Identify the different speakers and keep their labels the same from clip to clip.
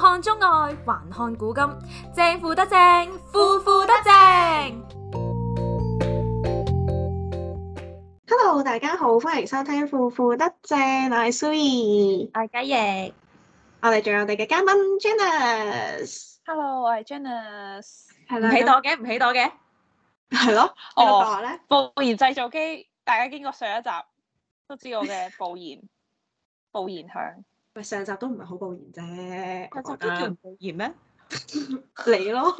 Speaker 1: 看中外，還看古今，正負得正，腐腐得正。
Speaker 2: Hello， 大家好，歡迎收聽腐腐得正，我係 Sui，
Speaker 1: 我係雞翼，
Speaker 2: 我哋仲有我哋嘅嘉賓 Janice。Hello，
Speaker 3: 我係 Janice。
Speaker 1: 唔起朵嘅，唔起朵嘅，
Speaker 2: 係咯。我咧
Speaker 3: 暴言製造機，大家經過上一集都知我嘅暴言響。
Speaker 2: 喂，上集都唔係好暴言啫，
Speaker 1: 上集都叫唔暴言咩？
Speaker 2: 你咯，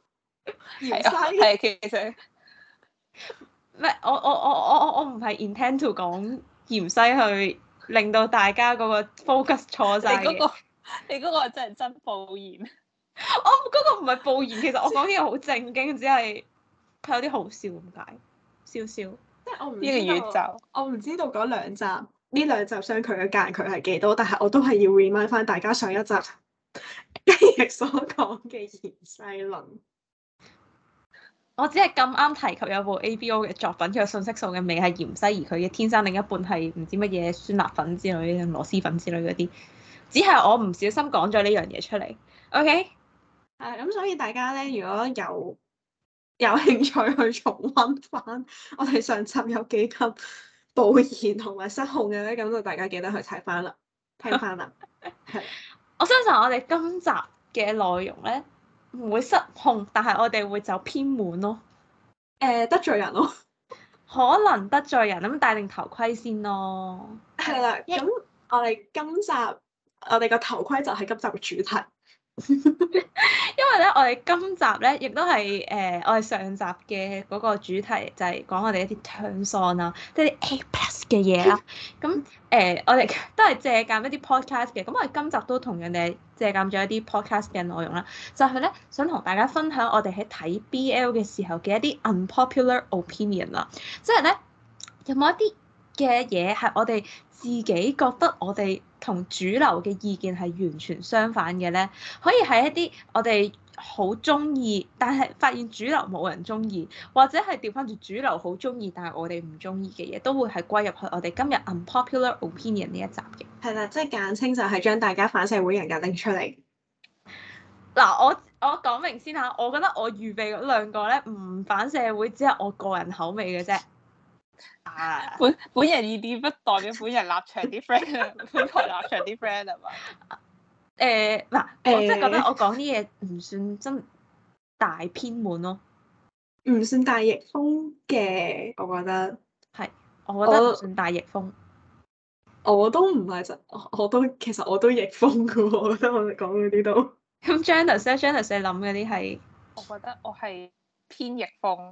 Speaker 3: 係其實
Speaker 1: 咩？我唔係 intend to 講芫茜去令到大家嗰個 focus 錯晒嘅。
Speaker 3: 你嗰個真係真暴言。
Speaker 1: 我嗰個唔係暴言，其實我講嘢好正經，只係佢有啲好笑咁解，笑笑。
Speaker 2: 即係我唔
Speaker 3: 呢個宇宙，
Speaker 2: 我唔知道嗰兩集呢兩集相距嘅間距係幾多，但係我都係要 remind 翻大家上一集雞翼所講嘅芫茜論。
Speaker 1: 我只係咁啱提及有部 ABO 嘅作品，佢嘅信息素嘅味係芫茜，而佢嘅天生另一半係唔知乜嘢酸辣粉之類、螺螄粉之類嗰啲，只係我唔小心講咗呢樣嘢出嚟。OK，
Speaker 2: 咁所以大家咧，如果有興趣去重溫翻我哋上集有幾級暴言同埋失控嘅咧，咁就大家記得去睇翻啦，聽翻啦。係，
Speaker 1: 我相信我哋今集嘅內容咧唔會失控，但係我哋會走偏門咯。
Speaker 2: 得罪人咯，
Speaker 1: 可能得罪人咁，戴定頭盔先咯。
Speaker 2: 係啦，咁我哋今集我哋個頭盔就係今集嘅主題。
Speaker 1: 因為咧，我哋今集咧亦都係我哋上集嘅嗰個主題就係講我哋一啲 turns on 啦，即係啲 A+ 嘅嘢啦。咁我哋都係借鑑一啲 podcast 嘅，咁我哋今集都同樣地借鑑咗一啲 podcast 嘅內容啦，就係咧想同大家分享我哋喺睇 BL 嘅時候嘅一啲 unpopular opinion 啦，即係咧有冇一啲嘅嘢係我哋自己覺得我哋同主流嘅意見係完全相反嘅咧，可以係一啲我哋好中意，但係發現主流冇人中意，或者係調翻轉主流好中意，但係我哋唔中意嘅嘢，都會係歸入去我哋今日 unpopular opinion 呢一集嘅。
Speaker 2: 係啦，即係簡稱就係將大家反社會人格拎出嚟。
Speaker 1: 嗱，我講明先嚇，我覺得我預備嗰兩個咧唔反社會，只係我個人口味嘅啫。
Speaker 3: 本人意見不代表本人立場啲 friend，本台立場啲 friend 係嘛？
Speaker 1: 我真係覺得我講啲嘢唔算真大偏門咯，
Speaker 2: 唔算大逆風嘅，我覺得
Speaker 1: 係，我覺得唔算大逆風。
Speaker 2: 我都唔係其實我都逆風嘅喎，我覺得我哋講嗰啲都。
Speaker 1: 咁 Janice 你諗嗰啲係？
Speaker 3: 我覺得我係偏逆風。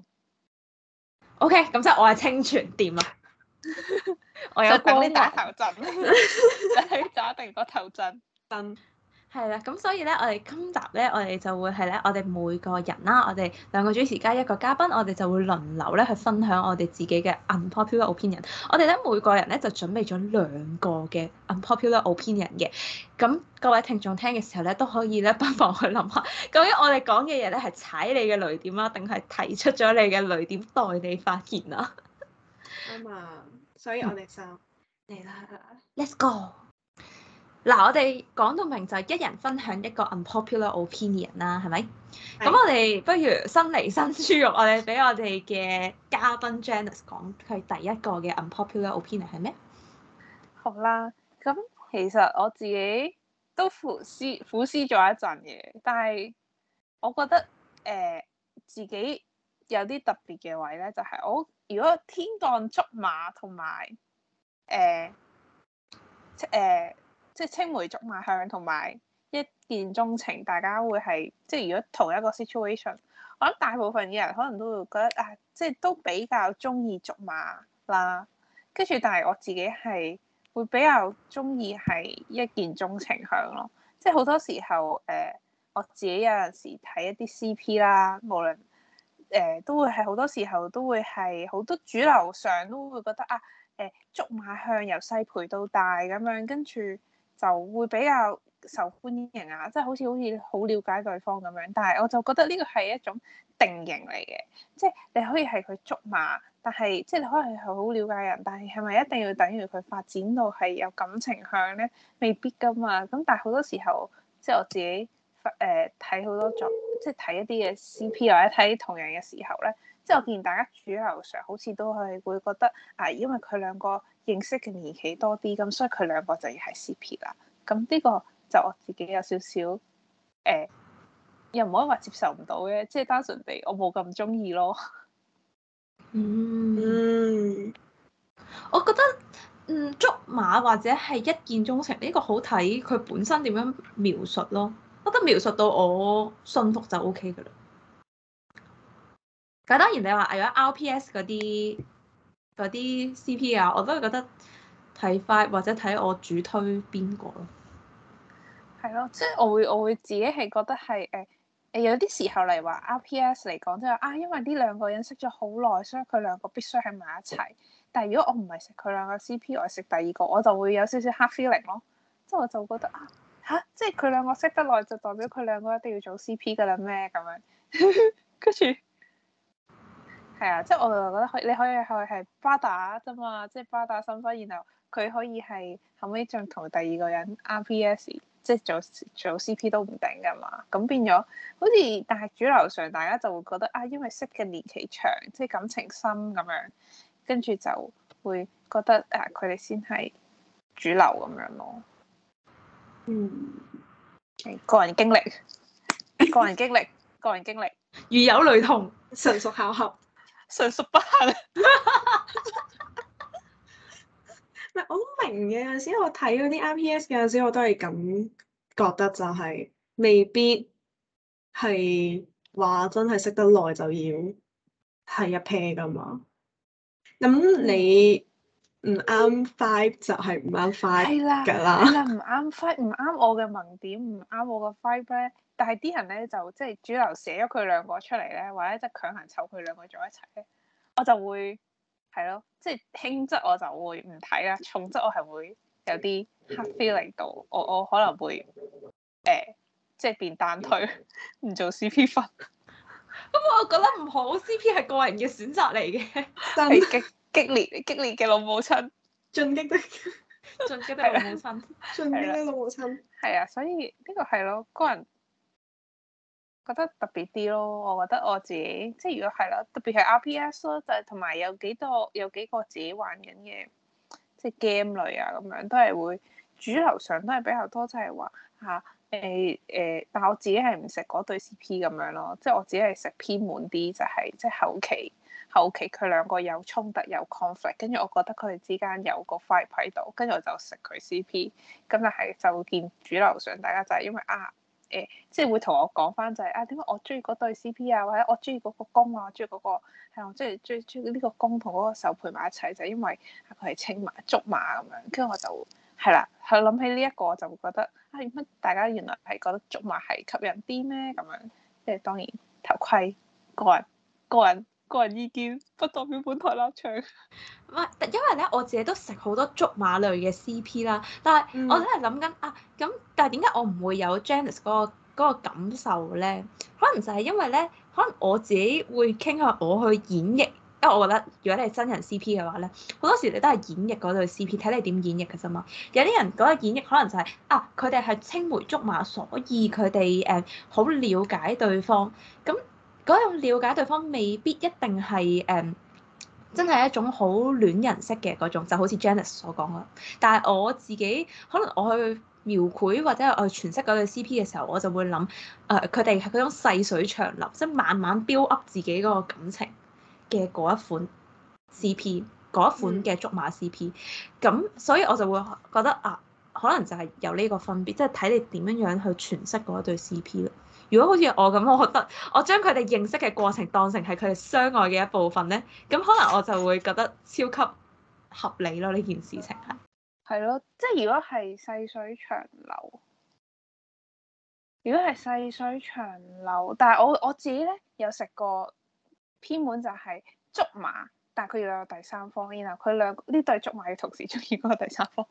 Speaker 1: OK，咁即係我係清泉掂啊！我有
Speaker 3: 等你打頭陣，等你打定個頭陣。
Speaker 1: 係啦，咁所以咧，我哋今集咧，我哋就會係咧，我哋每個人啦，我哋兩個主持加一個嘉賓，我哋就會輪流咧去分享我哋自己嘅 unpopular opinion。我哋咧每個人咧就準備咗兩個嘅 unpopular opinion 嘅。咁各位聽眾聽嘅時候咧，都可以咧不妨去諗下，究竟我哋講嘅嘢咧係踩你嘅雷點啦，定係提出咗你嘅雷點代你發言啊？
Speaker 2: 啱啊，所以我哋就嚟啦
Speaker 1: ，Let's go！嗱，我哋講到明就係一人分享一個 unpopular opinion 啦，係咪？咁我哋不如新嚟新豬肉，我哋俾我哋嘅嘉賓 Janice 講佢第一個嘅 unpopular opinion 係咩？
Speaker 3: 好啦，咁其實我自己都苦思咗一陣嘅，但係我覺得自己有啲特別嘅位咧，就係我如果天降竹馬同埋即係青梅竹馬向同埋一見鍾情，大家會係即係如果同一個 situation， 我諗大部分嘅人可能都會覺得即係都比較中意竹馬啦。跟住，但係我自己係會比較中意係一見鍾情向咯。即係好多時候我自己有陣時睇一啲 CP 啦，無論都會係好多時候都會係好多主流上都會覺得竹馬向由細陪到大咁樣，跟住就會比較受歡迎啊，即係好似好了解對方咁樣。但係我就覺得呢個係一種定型嚟嘅，即係你可以係佢竹馬，但係即係你可能係好了解人，但係係咪一定要等於佢發展到係有感情向咧？未必噶嘛。咁但係好多時候， 即係我自己睇好多即係睇一啲嘅 CP 或者睇同樣嘅時候咧，即係我見大家主流上好似都係會覺得因為佢兩個認識嘅年期多啲，咁所以佢兩個就要係 CP 啦。咁呢個就我自己有少少又唔可以話接受唔到嘅，即係單純地我冇咁中意咯。
Speaker 1: 我覺得竹馬或者係一見鍾情呢個好睇佢本身點樣描述咯。我覺得描述到我信服就 OK 噶啦。咁當然你話如果 RPS 嗰啲 CP 啊，我都係覺得睇快或者睇我主推邊個咯。
Speaker 3: 係咯，即係我會自己係覺得係有啲時候嚟話 RPS 嚟講，即係因為呢兩個人識咗好耐，所以佢兩個必須喺埋一齊。但係如果我唔係食佢兩個 CP，我係食第二個，我就會有少少 hard feeling 咯。即係我就覺得即係佢兩個識得耐，就代表佢兩個一定要做 CP 㗎啦咩咁樣？跟住係啊，即係我就覺得你可以係巴打啫嘛，即係巴打新婚，然後佢可以係後尾仲同第二個人 RPS。即係做 CP 都唔定㗎嘛，咁變咗好似，但係主流上大家就會覺得因為識嘅年期長，即係感情深咁樣，跟住就會覺得佢哋先係主流咁樣咯。個人經歷，
Speaker 1: 如有雷同，
Speaker 2: 純屬巧合，
Speaker 3: 純屬不幸。
Speaker 2: 唔係我好明嘅，有陣時我睇嗰啲 RPS 嘅陣時，我都係咁覺得，就係未必係話真係識得耐就要係一 pair 噶嘛。咁你唔啱 vibe 就係唔啱 vibe 㗎啦。
Speaker 3: 係啦，唔啱 vibe，唔啱我嘅萌點，唔啱我嘅 vibe 咧。但係啲人咧就即係主流寫咗佢兩個出嚟咧，或者即係強行湊佢兩個做一齊咧，我就會係咯，即係輕則我就會唔睇啦，重則我係會有啲 hard feeling 到，我可能會即係變單推，唔做 CP 分。
Speaker 1: 咁我覺得唔好 CP 係個人嘅選擇嚟嘅，
Speaker 3: 係激烈嘅老母親，
Speaker 2: 進擊的
Speaker 1: 老母親，
Speaker 2: 進擊的老母親。
Speaker 3: 係啊，所以呢個係咯，個人覺得特別啲咯。我覺得我自己即係如果係啦，特別係 RPS 咯，就係同埋有幾個自己玩緊嘅，即係 game 類啊咁樣，都係會主流上都係比較多，即係話但係我自己係唔食嗰對 CP 咁樣咯，即係我自己係食偏滿啲，就係即係後期佢兩個有衝突有 conflict，跟住我覺得佢哋之間有個 fight 喺度，跟住我就食佢 CP。咁但係就見主流上大家就係因為即係會同我講翻就係點解我中意嗰對 CP 啊，或者我中意嗰個公啊，我中意嗰個係我中意呢個公同嗰個受陪埋一齊，就係因為佢係青馬竹馬咁樣，跟住我就係啦，係諗起呢一個我就會覺得點解大家原來係覺得竹馬係吸引啲咩咁樣？即係當然頭盔個人意見，不代表本台立場。
Speaker 1: 唔係，因為咧我自己都食好多竹馬類嘅 CP 啦，但係我真係諗緊咁，但係點解我唔會有 Janice 嗰個感受咧？可能就係因為咧，可能我自己會傾向我去演繹，因為我覺得如果你係真人 CP 嘅話咧，好多時你都係演繹嗰對 CP，睇你點演繹嘅啫嘛。有啲人嗰個演繹可能就係佢哋係青梅竹馬，所以佢哋好了解對方咁。嗰種了解對方未必一定係真係一種好戀人式嘅嗰種，就好似 Janice 所講啦。但係我自己可能我去描繪或者我去詮釋嗰對 CP 嘅時候，我就會諗佢哋係嗰種細水長流，即係慢慢 build up 自己嗰個感情嘅嗰一款 CP，嗰一款嘅竹馬 CP。咁所以我就會覺得可能就係有呢個分別，即係睇你點樣樣去詮釋嗰一對 CP 咯。如果好似我咁，我覺得我將佢哋認識嘅過程當成係佢哋相愛嘅一部分咧，咁可能我就會覺得超級合理咯。呢件事情係
Speaker 3: 咯，即係如果係細水長流，但係我自己咧有食過偏門就係竹馬，但係佢要有第三方，然後佢呢對竹馬要同時中意嗰個第三方。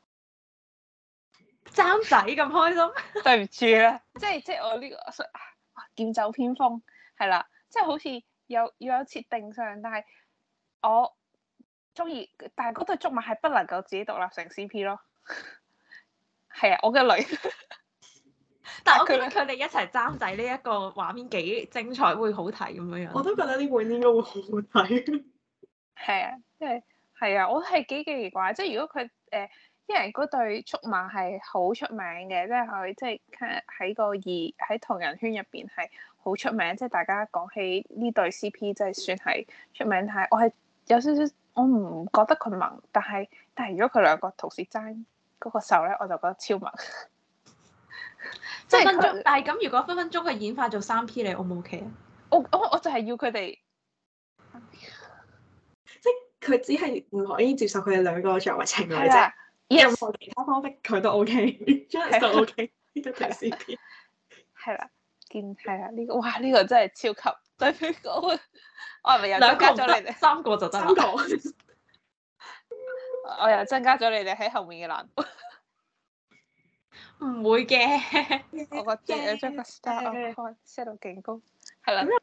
Speaker 1: 爭仔咁開心，
Speaker 3: 對唔住啦，即係我呢個劍走偏鋒係啦，即係好似要有設定上，但係我中意，但係嗰對竹馬係不能夠自己獨立成 CP 咯。係啊，我嘅女
Speaker 1: 但係我覺得佢哋一齊爭仔呢一個畫面幾精彩，會好睇咁樣樣。
Speaker 2: 我都覺得呢本應該會好好睇。
Speaker 3: 係啊，即係係啊，我係幾奇怪，即係如果佢因為嗰對速馬係好出名嘅，即係佢即係喺同人圈入邊係好出名，即係大家講起呢對 CP 即係算係出名，但係我係有少少我唔覺得佢萌，但係如果佢兩個同時爭嗰個手咧，我就覺得超萌。即係
Speaker 1: 分分鐘，但係咁如果分分鐘佢演化做3P，你 O 唔 OK 啊？
Speaker 3: 我就係要佢哋，
Speaker 2: 即係佢只係唔可以接受佢哋兩個作為情侶啫。
Speaker 3: 係啊，
Speaker 2: 任何其他方式佢都 OK，Janice 都 OK 呢對 CP。
Speaker 3: 係啦，係啦，呢個哇呢個真係超級對比講，我係咪又增加咗你哋
Speaker 1: 3個就得啦
Speaker 2: ？3個，
Speaker 3: 我又增加咗你哋喺後面嘅難度。
Speaker 1: 唔會嘅，
Speaker 3: 我個將個 start set 到勁高，係啦，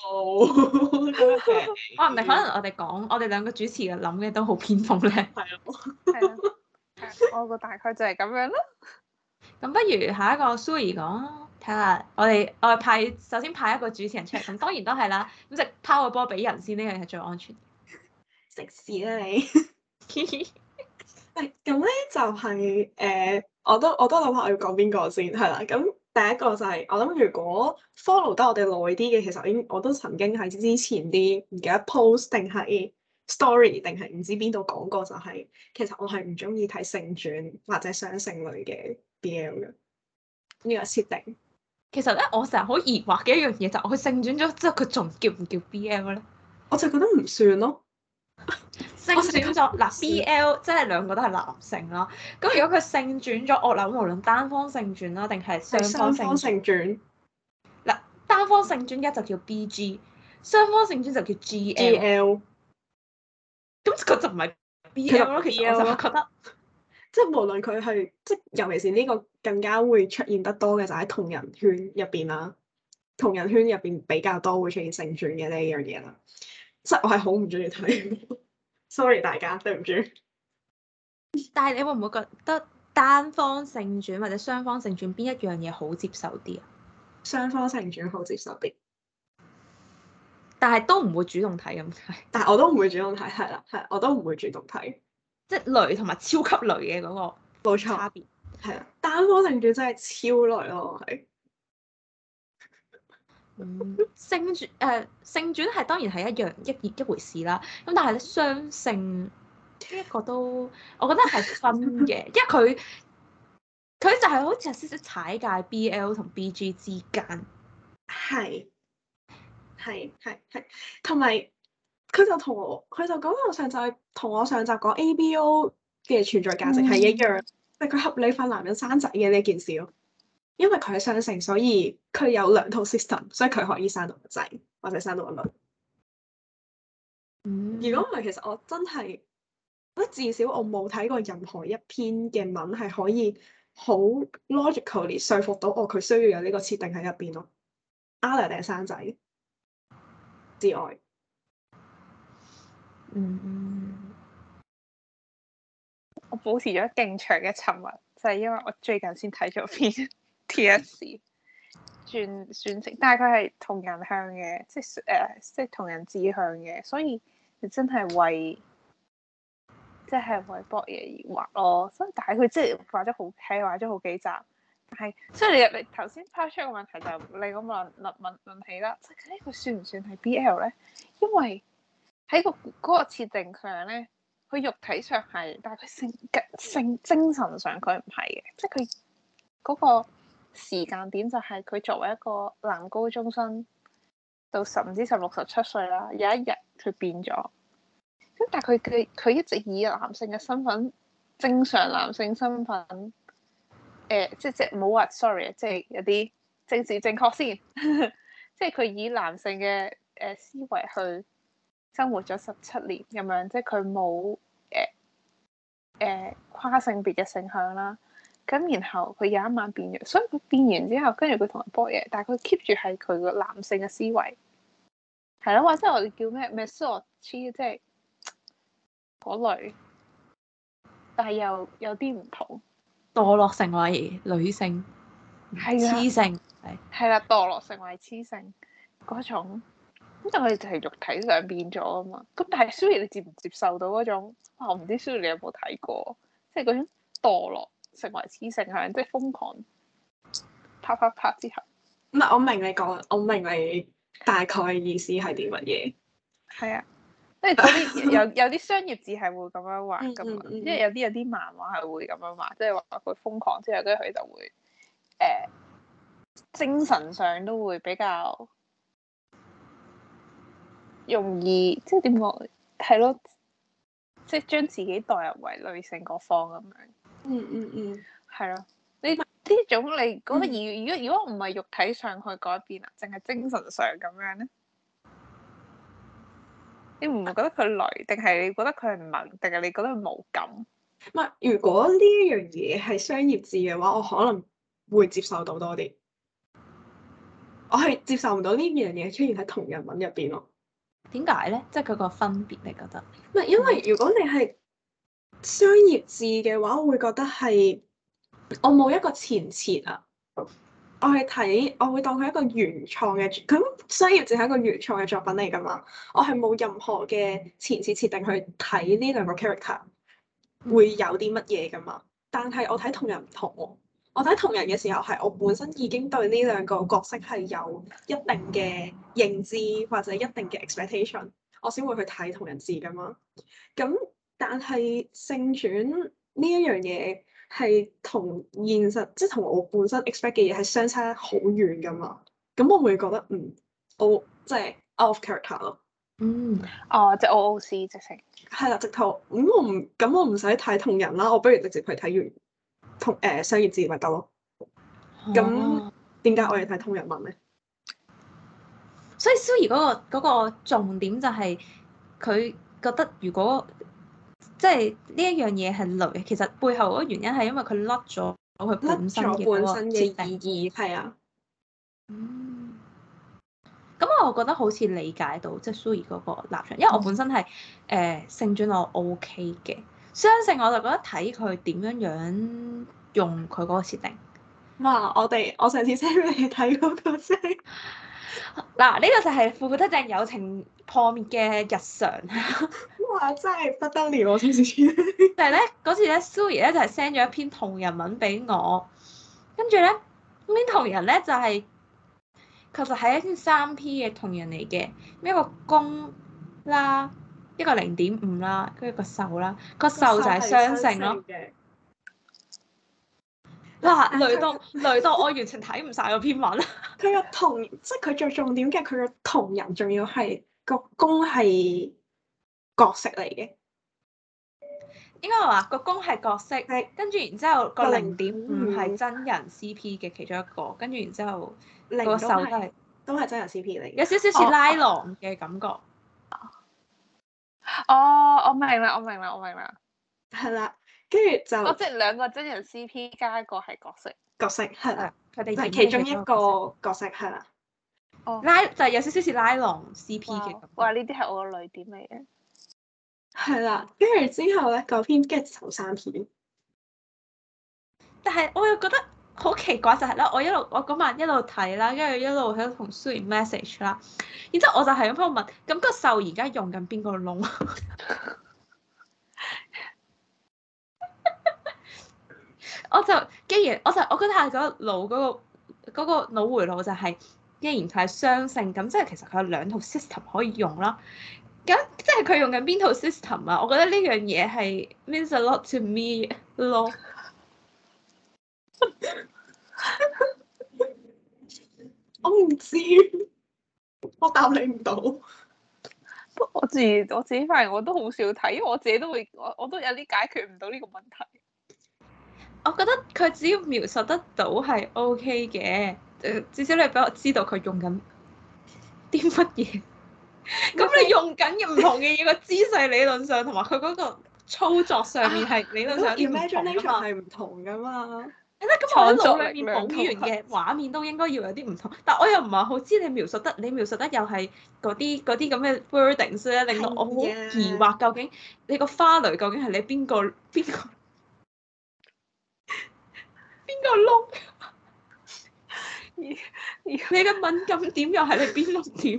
Speaker 1: 可能我哋講，我哋兩個主持嘅諗嘅都好偏鋒咧。
Speaker 2: 係啊，
Speaker 3: 我個大概就係咁樣咯。
Speaker 1: 咁不如下一個 Suri 講，睇下我哋首先派一個主持人出嚟，咁當然都係啦。咁就拋個波俾人先，呢樣係最安全。
Speaker 2: 食屎啦你！咁咧就係我都諗下我要講邊個先，係啦。咁第一個就係、我諗，如果 follow 得我哋耐啲嘅，其實我都曾經喺之前啲唔記得 post 定係 story 定係唔知邊度講過，就係、其實我係唔中意睇性轉或者雙性類嘅 BL 嘅呢個設定。
Speaker 1: 其實咧，我成日好疑惑嘅一樣嘢就係，佢性轉咗之後，佢仲叫唔叫 BL 咧？
Speaker 2: 我就覺得唔算咯。
Speaker 1: 性轉咗嗱 BL 即係兩個都係男性啦。咁如果佢性轉咗，我諗無論單方性轉啦，定係雙方性轉。嗱，單方性轉一就叫 BG，雙方性轉就叫 GL。咁佢就唔係 BL 咯。其實我就覺得，
Speaker 2: 即係無論佢係即係，尤其是呢個更加會出現得多嘅就喺同人圈入邊啦。同人圈入邊比較多會出現性轉嘅呢樣嘢啦。即係我係好唔中意睇。Sorry 大家，對唔住。
Speaker 1: 但係你會唔會覺得單方性轉或者雙方性轉邊一樣嘢好接受啲啊？
Speaker 2: 雙方性轉好接受啲，
Speaker 1: 但係都唔會主動睇咁解。
Speaker 2: 但係我都唔會主動睇，係啦，係我都唔會主動睇，
Speaker 1: 即係雷同埋超級雷嘅嗰個差別。
Speaker 2: 係啊，單方性轉真係超雷咯，我係。
Speaker 1: 性轉係當然係一回事啦。咁但係咧雙性呢一個都，我覺得係分嘅，因為佢就係好似有少少踩界 BL 同 BG 之間。
Speaker 2: 係，同埋佢就講我上集同我上集講 ABO 嘅存在價值係一樣，即係佢合理化男人生仔嘅呢件事咯。因為佢係雙性，所以佢有兩套 system，所以佢可以生到個仔或者生到個女。如果唔係，其實我真係，至少我冇睇過任何一篇嘅文係可以好 logically 說服到我佢需要有呢個設定喺入邊咯。either 定係生仔之外，
Speaker 3: 我保持咗勁長嘅沉默，就係因為我最近先睇咗篇 T.S. 轉性，但係佢係同人向嘅，即係同人志向嘅，所以你真係為博嘢而畫咯。所以但係佢即係畫咗好幾集，但係所以你頭先拋出個問題就你咁問起啦，即係呢個算唔算係 BL 咧？因為喺嗰個設定上咧，佢肉體上係，但係佢性精神上佢唔係嘅，即係佢嗰個時間點就係佢作為一個男高中生，到唔知16、17歲啦，有一日佢變咗，咁但係佢一直以男性嘅身份，正常男性身份，即係唔好話 sorry，即係有啲政治正確先，即係佢以男性嘅思維去生活咗17年咁樣，即係佢冇跨性別嘅性向啦。咁然後佢有一晚變咗，所以佢變完之後，跟住佢同人搏嘢，但係佢 keep 住係佢個男性嘅思維，係咯，或者我哋叫咩 misogyny，即係嗰類，但係又有啲唔同，
Speaker 1: 墮落成為女性。
Speaker 3: 係啊
Speaker 1: 雌性
Speaker 3: 係啦，墮落成為雌性嗰種，咁但係就係肉體上變咗啊嘛。咁但係 Suri 你接唔接受到嗰種？我唔知 Suri 你有冇睇過，即係嗰種墮落成為雌性向，即係瘋狂啪啪啪之後。
Speaker 2: 唔係，我明你講，我明你大概嘅意思係啲乜嘢。
Speaker 3: 係啊，即係嗰啲有啲商業字係會咁樣畫噶嘛，即係有啲漫畫係會咁樣畫，即係話佢瘋狂之後，跟住佢就會精神上都會比較容易，即係點講？係咯，即係將自己代入為女性嗰方咁樣。係咯，呢種你覺得如果唔係肉體上去改變啊，淨係精神上咁樣咧？你唔覺得佢累，定係你覺得佢係萌，定係你覺得佢無感？
Speaker 2: 唔係，如果呢樣嘢係商業字嘅話，我可能會接受到多啲。我係接受唔到呢樣嘢出現喺同人文入邊咯。
Speaker 1: 點解咧？即係佢個分別，你覺得？
Speaker 2: 唔係，因為如果你係商業字嘅話，我會覺得係我冇一個前設啊。我係睇，我會當佢一個原創嘅，咁商業字係一個原創嘅作品嚟㗎嘛。我係冇任何嘅前設設定去睇呢兩個 character 會有啲乜嘢㗎嘛。但係我睇同人唔同喎。我睇同人嘅時候係我本身已經對呢兩個角色係有一定嘅認知或者一定嘅 expectation，我先會去睇同人字㗎嘛。咁但係性轉呢一樣嘢係同現實，即係同我本身 expect 嘅嘢係相差好遠㗎嘛。咁我會覺得我即係 out of character 咯。
Speaker 3: 哦，即係 OOC 直情。係
Speaker 2: 啦，直頭咁我唔使睇同人啦，我不如直接去睇完同商業字咪得咯。咁點解我要睇同人文咧？
Speaker 1: 所以 Suri 嗰個重點就係佢覺得如果即係呢一樣嘢係雷，其實背後嗰個原因係因為佢甩咗佢本身嘅
Speaker 2: 意義，係啊。
Speaker 1: 咁我覺得好似理解到即係 Suri 嗰個立場，因為我本身係性轉我 OK 嘅，雙性我就覺得睇佢點樣用佢嗰個設定。
Speaker 2: 哇！我上次 send 俾你睇嗰個先。
Speaker 1: 嗱，呢個就係腐腐得正友情破滅嘅日常。
Speaker 2: 哇！真係不得了，我上次。
Speaker 1: 但係咧嗰次咧 Suri 咧就係 send 咗一篇同人文俾我，跟住咧呢篇同人咧就係其實係一篇3P 嘅同人嚟嘅，一個公啦，一個0.5啦，跟住個受啦，個受就係雙性咯。哇！累到我完全睇唔晒嗰篇文。
Speaker 2: 佢個同，即係佢最重點嘅，佢個同人仲要係個公係角色嚟嘅。
Speaker 1: 應該話個公係角色，跟住然之後個0.5係真人 CP 嘅其中一個，跟住然之後個受
Speaker 2: 都係真人 CP 嚟嘅，
Speaker 1: 有少少似拉郎嘅感覺。
Speaker 3: 我明啦。
Speaker 2: 係啦，跟住就
Speaker 3: 即係兩個真人 CP 加一個係角色
Speaker 2: 係啦，
Speaker 1: 佢哋
Speaker 2: 係其中一個角色係啦。
Speaker 1: 就係有少少似拉郎 CP 嘅感覺。
Speaker 3: 哇！呢啲係我個淚點嚟嘅。
Speaker 2: 係啦，跟住之後咧，嗰篇跟住就3篇。
Speaker 1: 但係我又覺得好奇怪就係咧，我嗰晚一路睇啦，跟住一路喺度同 Suri message 啦，然之後我就係咁喺度問，咁個受而家用緊邊個窿？我覺得係個腦回路就係，既然佢係雙性，咁即係其實佢有2套 system 可以用啦。咁即係佢用緊邊套 system 啊？我覺得呢樣嘢係 means a lot to me 咯。
Speaker 2: 我唔知，我答你唔到。
Speaker 3: 我自己發現我都好少睇，因為我自己都會，我都有啲解決唔到呢個問題。
Speaker 1: 我覺得佢只要描述得到係 OK 嘅，至少你俾我知道佢用緊啲乜嘢。咁你用緊嘅唔同嘅嘢，個姿勢理論上同埋佢嗰個操作上面係理論上有啲唔同㗎嘛。
Speaker 2: 係唔同㗎嘛。
Speaker 1: 咁我腦裏面補完嘅畫面都應該要有啲唔同，但我又唔係好知你描述得又係嗰啲咁嘅 wordings 咧，令到我好疑惑，究竟你個花蕾究竟係你邊個窿？ 你嘅敏感點又係你邊六點？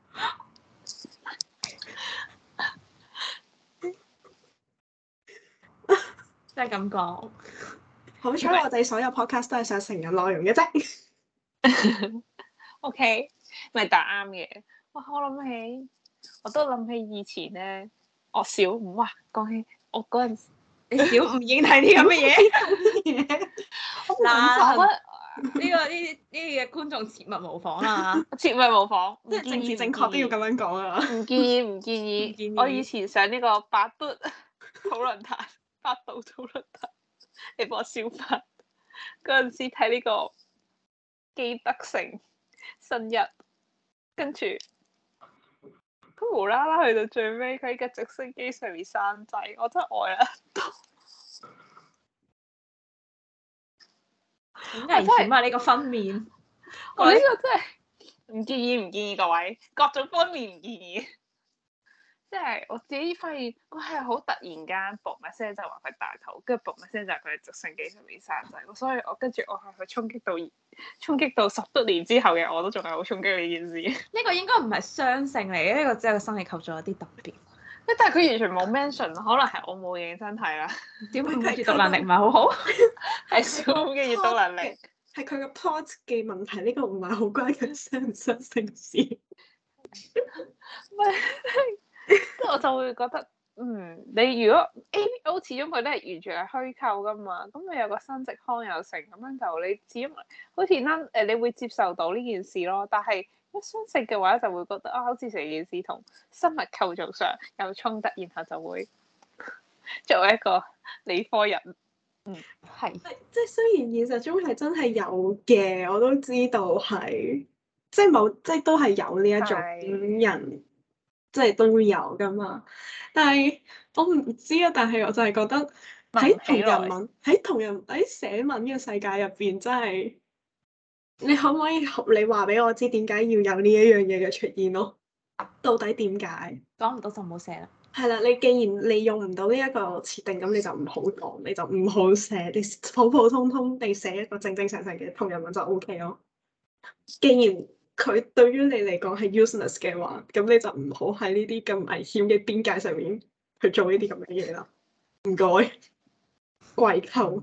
Speaker 1: 即係咁講。
Speaker 2: 好彩我哋所有 podcast 都係上成人內容嘅啫。
Speaker 3: OK，咪答啱嘅。哇！我都諗起以前咧，我小五哇，講起我嗰陣時，
Speaker 1: 你小五已經睇啲咁嘅嘢。嗱，呢啲嘅觀眾切勿模仿啊！
Speaker 3: 切勿模仿，
Speaker 2: 即係政治正確都要咁樣講啊！
Speaker 3: 唔建議。我以前上呢個百度討論壇，百度討論壇，你幫我消化嗰陣時睇呢個基德城新一，跟住佢無啦啦去到最尾，佢喺架直升機上面生仔，我真係愛啦！
Speaker 1: 好危險啊！呢個分娩，
Speaker 3: 我呢個真係唔建議各位，各種方面唔建議。即係我自己發現，佢係好突然間，嘣一聲就話佢大肚，跟住嘣一聲就係佢喺直升機上面生仔。所以我係去衝擊到10多年之後嘅我都仲係好衝擊呢件事。
Speaker 1: 呢個應該唔係雙性嚟嘅，呢個只係個生理構造有啲特別。
Speaker 3: 但係佢完全冇 mention，可能係我冇認真睇啦。
Speaker 1: 點解閱讀能力唔係好好？
Speaker 3: 係小五嘅閱讀能力，
Speaker 2: 係佢個 plot 嘅問題。呢個唔係好關佢雙唔雙性事。
Speaker 3: 唔係，即係我就會覺得，你如果 ABO 始終佢都係完全係虛構噶嘛，咁你有個生殖腔有成咁樣就你始終好似啦你會接受到呢件事咯。但係一雙性嘅話就會覺得好似成件事同生物構造上有衝突，然後就會作為一個理科人，
Speaker 1: 係
Speaker 2: 即係雖然現實中係真係有嘅，我都知道係即係都係有呢一種人。即係都會有噶嘛，但係我唔知啊。但係我就係覺得喺寫文嘅世界入邊，真係你可唔可以你話俾我知點解要有呢一樣嘢嘅出現咯？到底點解？
Speaker 1: 講唔到就唔好寫啦。
Speaker 2: 係啦，你既然利用唔到呢一個設定，咁你就唔好講，你就唔好寫，你普普通通地寫一個正正常常嘅同人文就 OK 咯。既然佢對於你嚟講係 useless 嘅話，咁你就唔好喺呢啲咁危險嘅邊界上面去做呢啲咁嘅嘢啦。唔該，跪求。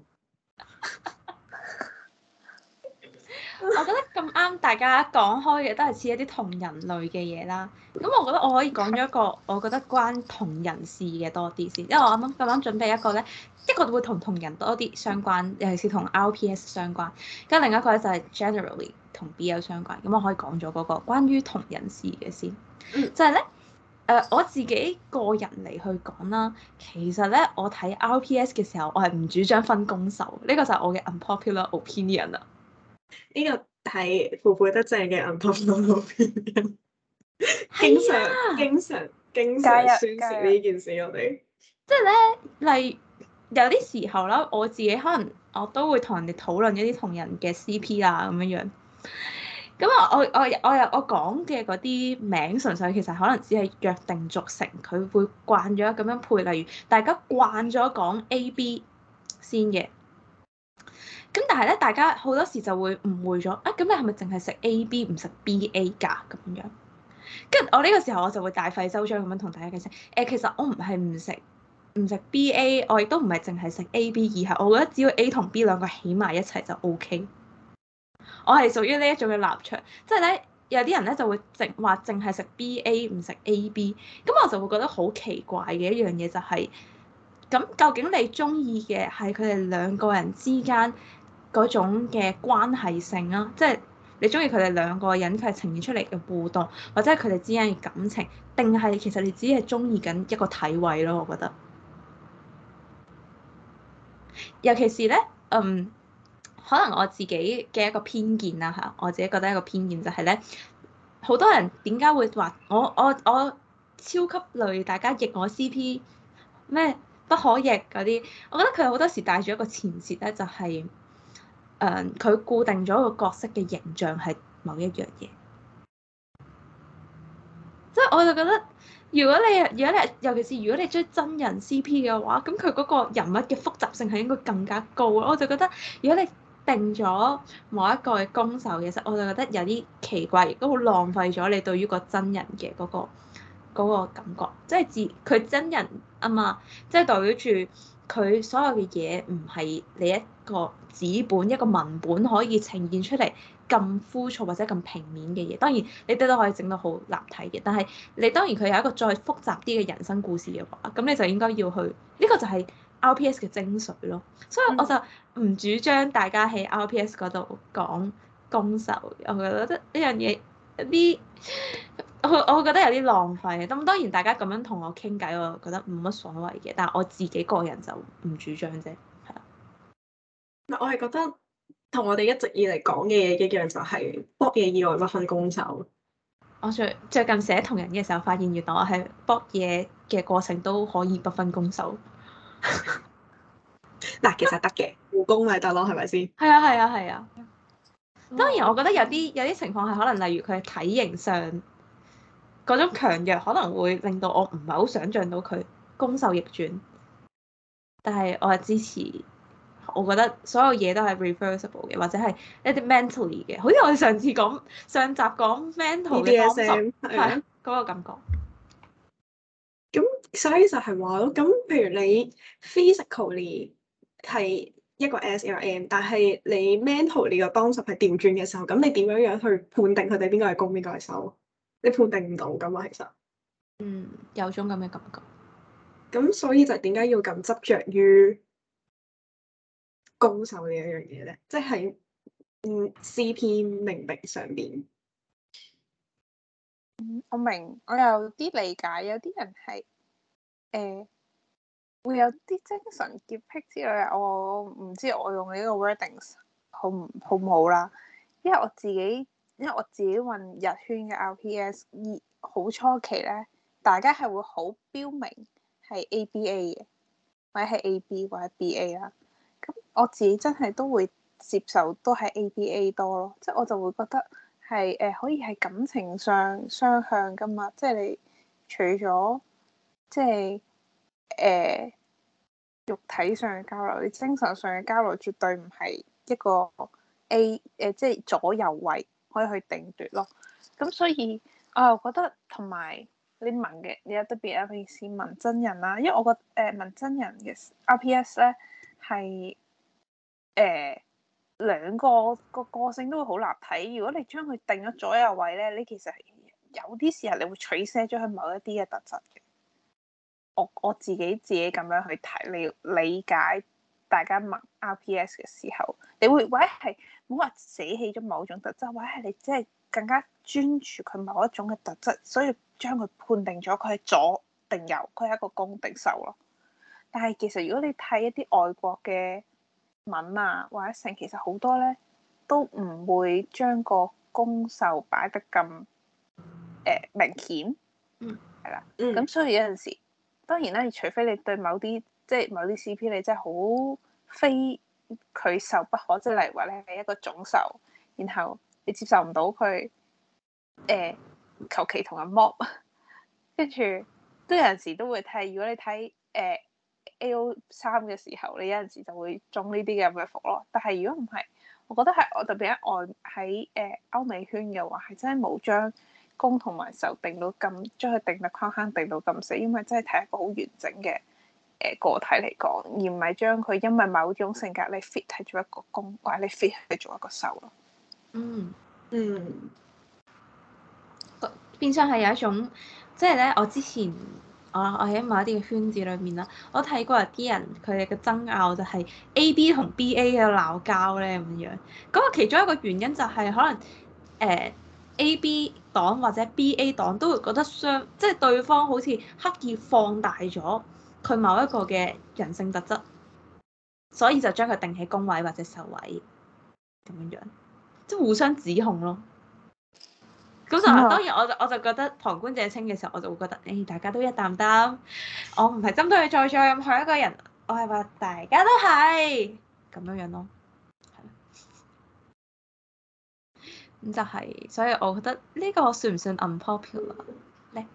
Speaker 1: 我覺得咁啱大家講開嘅都係似一啲同人類嘅嘢啦。咁我覺得我可以講咗一個我覺得關同人事嘅多啲先，因為我啱啱準備一個咧，一個會同人多啲相關，尤其是同 RPS 相關，跟另一個咧就係 generally 同 BL 相關。咁我可以講咗嗰個關於同人事嘅先，就係咧我自己個人嚟去講啦。其實咧我睇 RPS 嘅時候，我係唔主張分攻受，呢個就係我嘅 unpopular opinion 啦。
Speaker 2: 呢個係腐腐得正嘅 unpopular opinion，經常宣泄呢件事我哋。
Speaker 1: 即係咧，例如有啲時候啦，我自己可能我都會同人哋討論一啲同人嘅 CP 啦咁樣樣。咁啊，我講嘅嗰啲名純粹其實可能只係約定俗成，佢會慣咗咁樣配。例如大家慣咗講 AB 先嘅。咁但係咧，大家好多時就會誤會咗啊！咁你係咪淨係食 AB 唔食 BA 㗎咁樣？跟住我呢個時候我就會大費周章咁樣同大家解釋其實我唔係唔食 BA，我亦都唔係淨係食 AB，而係我覺得只要 A 同 B 兩個起埋一齊就 OK。我係屬於呢一種嘅立場，即係咧有啲人咧就會淨係食 BA 唔食 AB，咁我就會覺得好奇怪嘅一樣嘢就係，咁究竟你中意嘅係佢哋兩個人之間嗰種嘅關係性啊，即係你中意佢哋兩個人佢係呈現出嚟嘅互動，或者係佢哋之間嘅感情，定係其實你只係中意緊一個體位咯？我覺得，尤其是咧，可能我自己嘅一個偏見啦嚇，我自己覺得一個偏見就係咧，好多人點解會話我超級累，大家逆我 CP 咩不可逆嗰啲？我覺得佢好多時帶住一個前設咧，就係佢固定咗個角色嘅形象係某一樣嘢，即係我就覺得，如果你尤其是如果你追真人 CP 嘅話，咁佢嗰個人物嘅複雜性係應該更加高咯。我就覺得，如果你定咗某一個嘅攻受嘅時候，我就覺得有啲奇怪，亦都好浪費咗你對於個真人嘅嗰個感覺，即係佢真人啊嘛，即係代表住佢所有嘅嘢唔係你一個紙本一個文本可以呈現出嚟咁枯燥或者咁平面嘅嘢。當然你哋都可以整到好立體嘅，但係你當然佢有一個再複雜啲嘅人生故事嘅話，咁你就應該要去呢個就係 RPS 嘅精髓咯。所以我就唔主張大家喺 RPS 嗰度講攻受，我覺得呢樣嘢有啲。我覺得有啲浪費，咁當然大家咁樣同我傾偈，我覺得冇乜所謂嘅，但係我自己個人就唔主張啫，係啦。
Speaker 2: 我係覺得同我哋一直以嚟講嘅嘢一樣，就係博嘢以外不分攻受。
Speaker 1: 我最近寫同人嘅時候，發現原來我係博嘢嘅過程都可以不分攻受。
Speaker 2: 嗱，其實得嘅，互攻咪得咯，係咪先？
Speaker 1: 係啊係啊係啊。當然我覺得有啲情況係可能，例如佢體型上嗰種強弱可能會令到我唔係好想像到佢攻受逆轉，但係我係支持。我覺得所有嘢都係 reversible 嘅，或者係一啲 mentally 嘅，好似我哋上集講 mental 嘅幫助，係嗰個感覺。
Speaker 2: 咁所以就係話咯，咁譬如你 physically 係一個 S 一個 M，但係你 mentally 個 concept 係調轉嘅時候，咁你點樣樣去判定佢哋邊個係攻邊個係受？你判定唔到噶嘛，其實。
Speaker 1: 有種咁嘅感覺。
Speaker 2: 咁所以就點解要咁執着於攻受呢一樣嘢咧？即係CP 命名上邊。
Speaker 3: 我明，我有啲理解，有啲人係會有啲精神潔癖之類，我唔知我用呢個 wordings 好唔好啦。因為我自己運日圈嘅 RPS，好初期咧，大家係會好標明係 ABA 嘅，或者係 AB 或者 BA 啦。咁我自己真係都會接受都係 ABA 多咯，即係我就會覺得係可以係感情上雙向噶嘛，即係你除咗即係肉體上嘅交流，你精神上嘅交流絕對唔係一個 即係左右位可以去定奪咯。咁所以我又覺得同埋你問嘅，你有特別有意思問真人啦，因為我覺得問真人嘅 RPS 咧係兩個個性都會好立體。如果你將佢定咗左右位咧，你其實有啲時候你會取捨咗佢某一啲嘅特質嘅。我自己咁樣去睇，你理解大家問 RPS 嘅時候，你會或者係冇話捨棄咗某種特質，或者係你即係更加專注佢某一種嘅特質，所以將佢判定咗佢係左定右，佢係一個攻定受咯。但係其實如果你睇一啲外國嘅文啊或者成，其實好多咧都唔會將個攻受擺得咁明顯，係啦，咁所以有陣時。當然啦，除非你對某啲 CP 你真係好非佢受不可，即係例如話你係一個總受，然後你接受唔到佢求其同人 mob， 跟住都有陣時都會睇。如果你睇AO3 嘅時候，你有陣時就會中呢啲咁嘅伏咯。但係如果唔係，我覺得係我特別喺歐美圈嘅話，係真係冇將攻同埋受定到咁，將佢定得框框定到咁死，因為真係睇一個好完整嘅個體嚟講，而唔係將佢因為某種性格你 fit 係做一個攻，或者你 fit 係做一個受咯。
Speaker 1: 變相係有一種，即係咧，我之前我喺某一啲嘅圈子裏面啦，我睇過有啲人佢哋嘅爭拗就係 AB 同 BA 嘅鬧交咧咁樣。嗰個其中一個原因就係可能AB 黨或者 BA 黨都會覺得即係對方好似刻意放大咗佢某一個嘅人性特質，所以就將佢定喺攻位或者受位咁樣，即係互相指控咯。咁就當然我就覺得旁觀者清嘅時候，我就會覺得大家都一擔擔。我唔係針對在座任何一個人，我係話大家都係咁樣咯。咁就係，所以我覺得呢個算唔算 unpopular 咧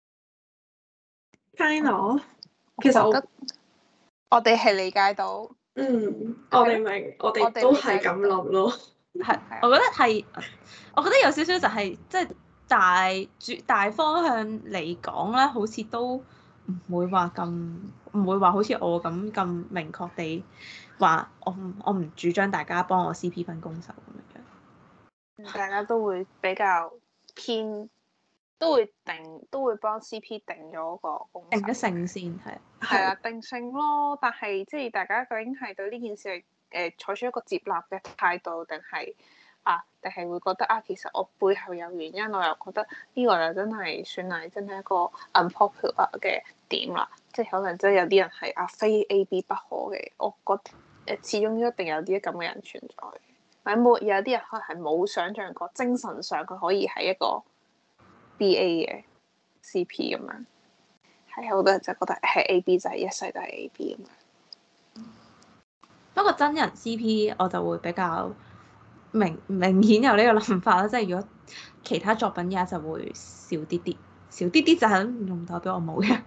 Speaker 2: ？Kind of，
Speaker 3: 其實我哋係理解到，
Speaker 2: 我哋明，我哋都係咁諗咯。
Speaker 1: 係，我覺得有少少就係即係大方向嚟講咧，好似都唔會話好似我咁明確地話我唔主張大家幫我 CP 分攻受咁樣。
Speaker 3: 大家都會比較偏，都會幫 CP 定咗個攻守，
Speaker 1: 定咗性先係。
Speaker 3: 係啊，定性咯。但係即係大家究竟係對呢件事係採取一個接納嘅態度，定係會覺得其實我背後有原因，我又覺得呢個就真係算係真係一個 unpopular 嘅點啦。即係可能真係有啲人係非 A.B 不可嘅，我覺得始終一定有啲咁嘅人存在。或者有啲人可能係冇想像過精神上佢可以係一個 B.A 嘅 C.P 咁樣。係好多人就覺得係 A.B 就係一世都係 A.B 咁樣。
Speaker 1: 不過真人 C.P 我就會比較明顯有呢個諗法啦，即係如果其他作品嘅就會少啲就係唔代表我冇嘅。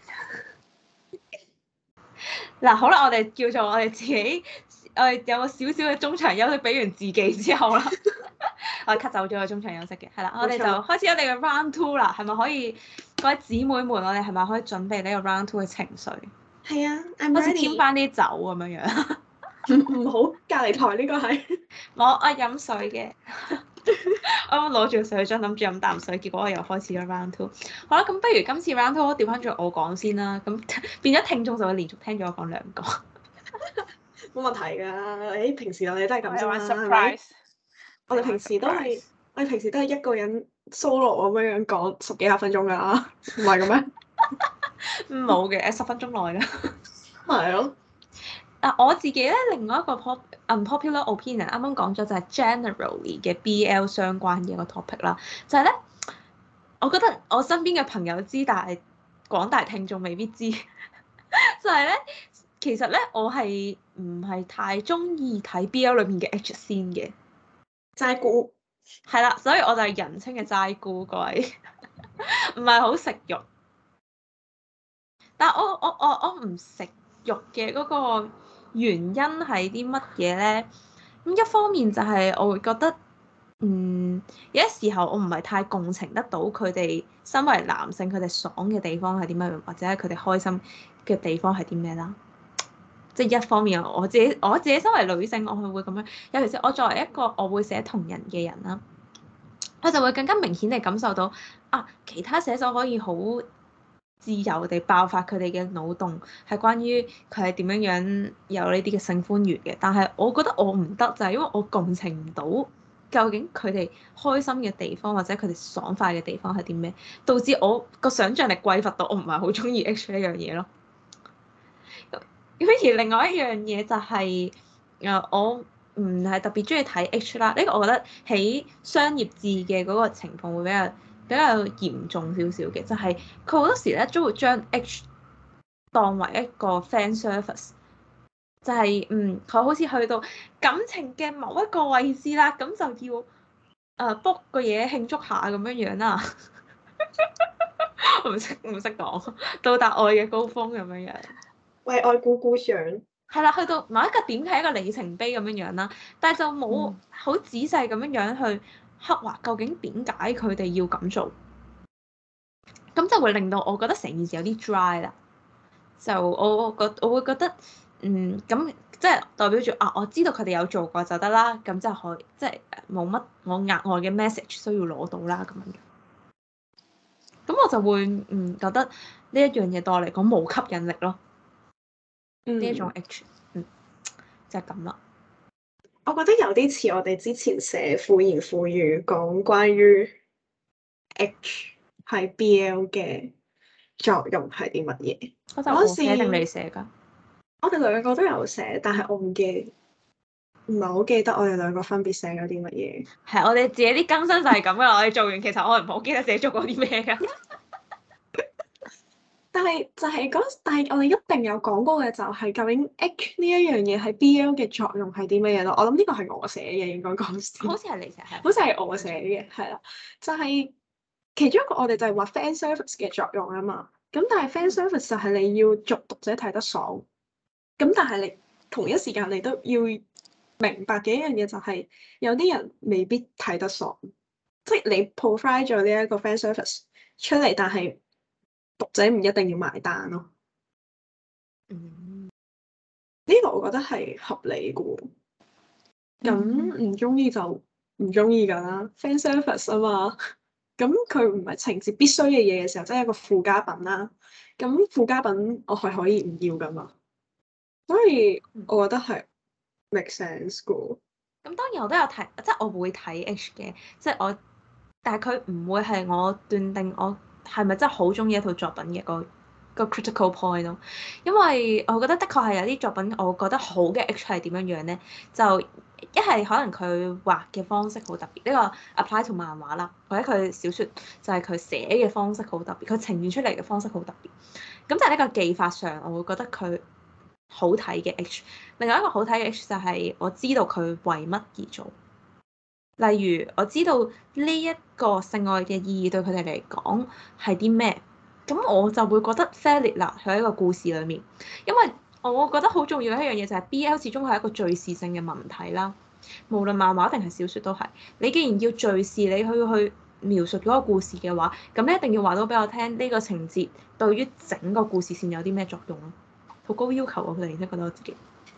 Speaker 1: 嗱好啦，我哋叫做我哋自己，我哋有個少少嘅中場休息，俾完自己之後啦，我哋 cut 走咗個中場休息嘅，係啦，我哋就開始咗你嘅 round two 啦，係咪可以各位姊妹們，我哋係咪可以準備呢個 round two 嘅情緒？
Speaker 2: 係啊，
Speaker 1: 好似添翻啲酒咁樣樣。
Speaker 2: 唔好，隔離台呢個係
Speaker 1: 我飲水嘅，我攞住個水樽諗住飲啖水，結果我又開始咗 round two。好啦，咁不如今次 round two 調翻轉我講先啦，咁變咗聽眾就會連續聽咗我講兩個。
Speaker 2: 冇問題㗎，平時我哋都係咁啫嘛，係
Speaker 3: surprise
Speaker 2: 我哋平時都係一個人 solo 咁樣講10幾20分鐘㗎啦，唔係咁咩？
Speaker 1: 冇嘅，10分鐘內㗎。
Speaker 2: 係咯。
Speaker 1: 我自己咧，另外一個 unpopular opinion，啱啱講咗就係 generally 嘅 BL 相關嘅一個 topic 啦，就係咧，我覺得我身邊嘅朋友知，但係廣大聽眾未必知，就係咧，其實咧我係唔係太中意睇 BL 裏面嘅 H 先嘅
Speaker 2: 齋估
Speaker 1: 係啦，所以我就係人稱嘅齋姑，各位唔係好食肉，但係我唔食肉嘅嗰個原因係啲乜嘢咧？咁一方面就係我會覺得，有啲時候我唔係太共情得到佢哋身為男性佢哋爽嘅地方係啲乜，或者係佢哋開心嘅地方係啲咩啦。即係一方面我自己身為女性，我係會咁樣。尤其是我作為一個我會寫同人嘅人啦，我就會更加明顯地感受到其他寫手可以好自由地爆發佢哋嘅腦洞，係關於佢係點樣有呢啲嘅性歡愉嘅。但係我覺得我唔得，就係因為我共情唔到究竟佢哋開心嘅地方或者佢哋爽快嘅地方係啲咩，導致我個想像力匱乏到我唔係好中意 H 呢樣嘢咯。咁而另外一樣嘢就係我唔係特別中意睇 H 啦。呢個我覺得喺商業誌嘅嗰個情況會比較嚴重少少嘅，就係佢好多時咧都會將 H 當為一個 fan service，就係佢好似去到感情嘅某一個位置啦，咁就要book 個嘢慶祝下咁樣樣啦。我唔識講，到達愛嘅高峰咁樣樣，
Speaker 2: 為愛鼓掌。
Speaker 1: 係啦，去到某一個點係一個里程碑咁樣樣啦，但係就冇好仔細咁樣樣去刻畫究竟點解佢哋要咁做，咁就會令到我覺得成件事有啲 dry 啦。就我會覺得咁即係代表住我知道佢哋有做過就得啦，咁就可以即係冇乜我額外嘅 message 需要攞到啦咁樣。咁我就會覺得呢一樣嘢對我嚟講冇吸引力咯。呢一種 H 就係咁啦。
Speaker 2: 我覺得有啲似我哋之前寫婦言婦語講關於 H 喺 BL 嘅作用係啲乜嘢？
Speaker 1: 嗰陣我寫定你寫㗎？
Speaker 2: 我哋兩個都有寫，但係我唔係好記得我哋兩個分別寫咗啲乜嘢。
Speaker 1: 係我哋自己啲更新就係咁噶啦。我哋做完其實我唔好記得自己做過啲咩㗎。
Speaker 2: 但係我哋一定有講過嘅就係究竟 H 呢一樣嘢喺 BL 嘅作用係啲乜嘢咯？我諗呢個係我寫嘅，應該講先。
Speaker 1: 好似係你寫，係。
Speaker 2: 好似係我寫嘅，係啦，就係其中一個我哋就係話 fan service 嘅作用啊嘛。咁但係 fan service 就係你要逐讀者睇得爽。咁但係同一時間你都要明白嘅一樣嘢就係，有啲人未必睇得爽，即係你 provide 咗呢一個 fan service 出嚟，但係讀者唔一定要埋單咯。呢個我覺得係合理嘅喎。咁唔中意就唔中意㗎啦，fan service 啊嘛。咁佢唔係情節必須嘅嘢嘅時候，即係一個附加品啦。咁附加品我係可以唔要㗎嘛。所以我覺得係 make sense 嘅。
Speaker 1: 咁當然我都有睇，即係我會睇 H 嘅，即係我，但係佢唔會係我斷定我係咪真係好中意一套作品嘅個 critical point 咯。因為我覺得的確係有啲作品，我覺得好嘅 H 係點樣樣咧？就一係可能佢畫嘅方式好特別，呢個 apply to 漫畫啦，或者佢小説就係佢寫嘅方式好特別，佢呈現出嚟嘅方式好特別。咁但係呢個技法上，我會覺得佢好睇嘅 H，另外一個好睇嘅 H 就係我知道佢為乜而做。例如我知道呢一個性愛嘅意義對佢哋嚟講係啲咩，咁我就會覺得 valid 啦，喺一個故事裡面，因為我覺得好重要嘅一樣嘢就係 BL 始終係一個敘事性嘅文體啦，無論漫畫定係小説都係。你既然要敘事，你去描述嗰個故事嘅話，咁你一定要話到俾我聽呢個情節對於整個故事線有啲咩作用咯。好高要求啊！佢哋真係覺得我自己。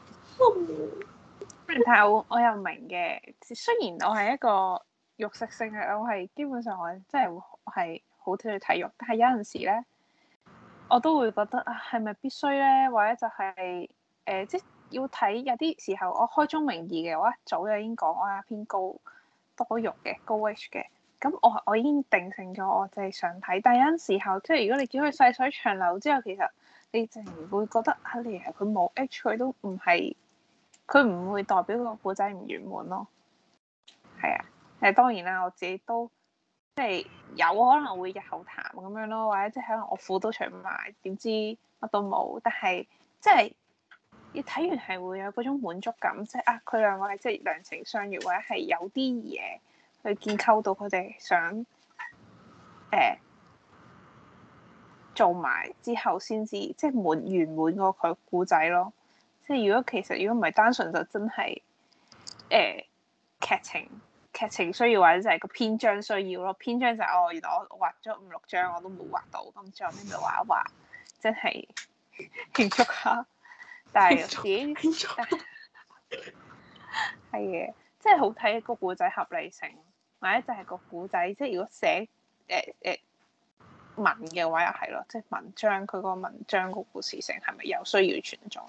Speaker 3: 但係我又明嘅，雖然我係一個肉食性嘅，我係基本上我真係係好中意睇肉，但係有陣時咧，我都會覺得啊，係咪必須咧？或者就係即係要睇有啲時候，我開宗明義嘅，我一早就已經講我係偏高多肉嘅高 H 嘅，咁我已經定性咗，我就係想睇。但係有陣時候，即係如果你叫佢細水長流之後，其實你淨係會覺得啊，你係佢冇 H，佢都唔係。佢唔會代表個故仔唔圓滿咯，係啊，當然啦，我自己都即係有可能會日後談咁樣咯，或者即係可能我褲都除埋，點知乜都冇，但係即係你睇完係會有嗰種滿足感，即係啊佢兩個係即係兩情相悅，或者係有啲嘢去建構到佢哋想做埋之後先至即係圓滿個佢故仔咯。即係如果唔係單純就真係劇情需要，或者就係個篇章需要咯。篇章就係原來我畫咗5、6張我都冇畫到，咁最後尾咪畫一畫，真係慶祝下。但係自己係嘅，即係好睇個故仔合理性，或者就係個故仔，即係如果寫文嘅話又係咯，即係文章佢個文章個故事性係咪有需要存在？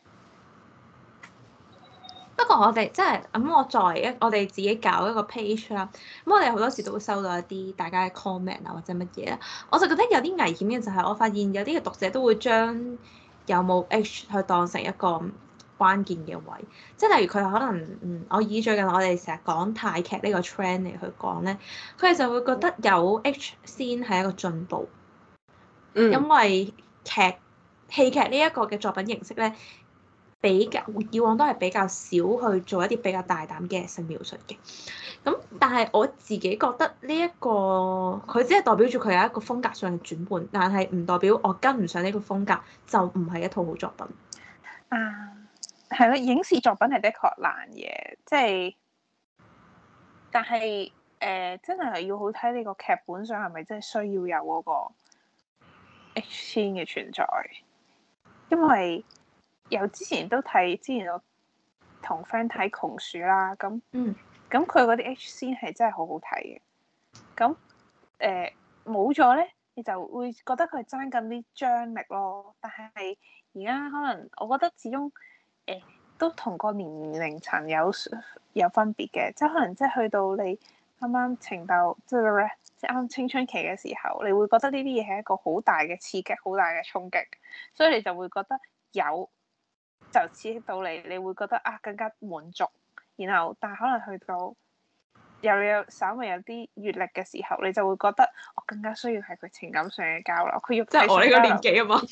Speaker 1: 不過我哋即係咁，我作為我哋自己搞一個 page 啦，咁我哋好多時都會收到一啲大家嘅 comment 啊或者乜嘢啊，我就覺得有啲危險嘅就係我發現有啲嘅讀者都會將有冇 H 去當成一個關鍵嘅位，即係例如佢可能我以最近我哋成日講泰劇呢個 trend 嚟去講咧，佢哋就會覺得有 H 先係一個進步，因為戲劇呢一個嘅作品形式咧，比較以往都係比較少去做一啲比較大膽嘅性描述嘅。咁但係我自己覺得呢一個佢只係代表住佢有一個風格上嘅轉換，但係唔代表我跟唔上呢個風格就唔係一套好作品。
Speaker 3: 係咯，影視作品係的確難嘅，即係，但係真係要好睇你個劇本上係咪真係需要有嗰個 H 先嘅存在，因為之前我同 friend 睇窮鼠啦，咁佢嗰啲 H 先係真係好好睇嘅，咁冇咗咧，你就會覺得佢爭緊啲張力咯。但係而家可能我覺得始終都同個年齡層有分別嘅，即係可能即係去到你啱啱情竇即係啱啱青春期嘅時候，你會覺得呢啲嘢係一個好大嘅刺激、好大嘅衝擊，所以你就會覺得有就刺激到你，你會覺得啊更加滿足。然後但係可能去到有稍微有啲閲歷嘅時候，你就會覺得我更加需要係佢情感上嘅交流。佢要
Speaker 1: 即係我呢個年紀啊嘛，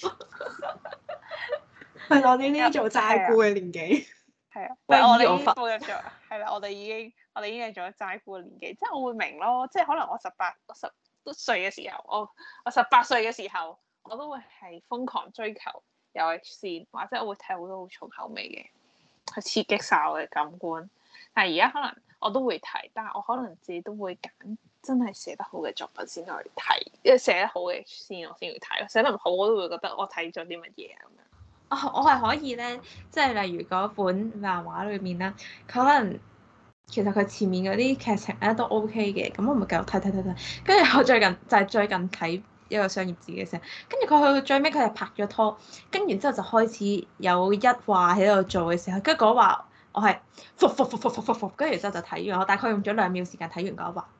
Speaker 2: 係我哋呢啲做齋姑嘅年紀。
Speaker 3: 係啊，但係我哋已經步入咗，係啦，我哋已經係做咗齋姑嘅年紀，即係我會明咯，即係可能我10歲嘅時候，我18歲嘅時候，我都會係瘋狂追求有 H 線，或者我會睇好多好重口味嘅去刺激晒我嘅感官。但係而家可能我都會睇，但係我可能自己都會揀真係寫得好嘅作品先去睇，因為寫得好嘅我先去睇，寫得唔好我都會覺得我睇咗啲乜嘢咁樣。
Speaker 1: 我係可以咧，即係例如嗰本漫畫裏面啦，佢可能其實佢前面嗰啲劇情咧都 OK 嘅，咁我咪繼續睇，跟住我最近睇一個商業誌嘅時候，跟住佢去到最尾佢係拍咗拖，跟住之後就開始有一話喺度做嘅時候，跟住嗰話我係復，跟住之後就睇完，我大概用咗2秒時間睇完嗰話。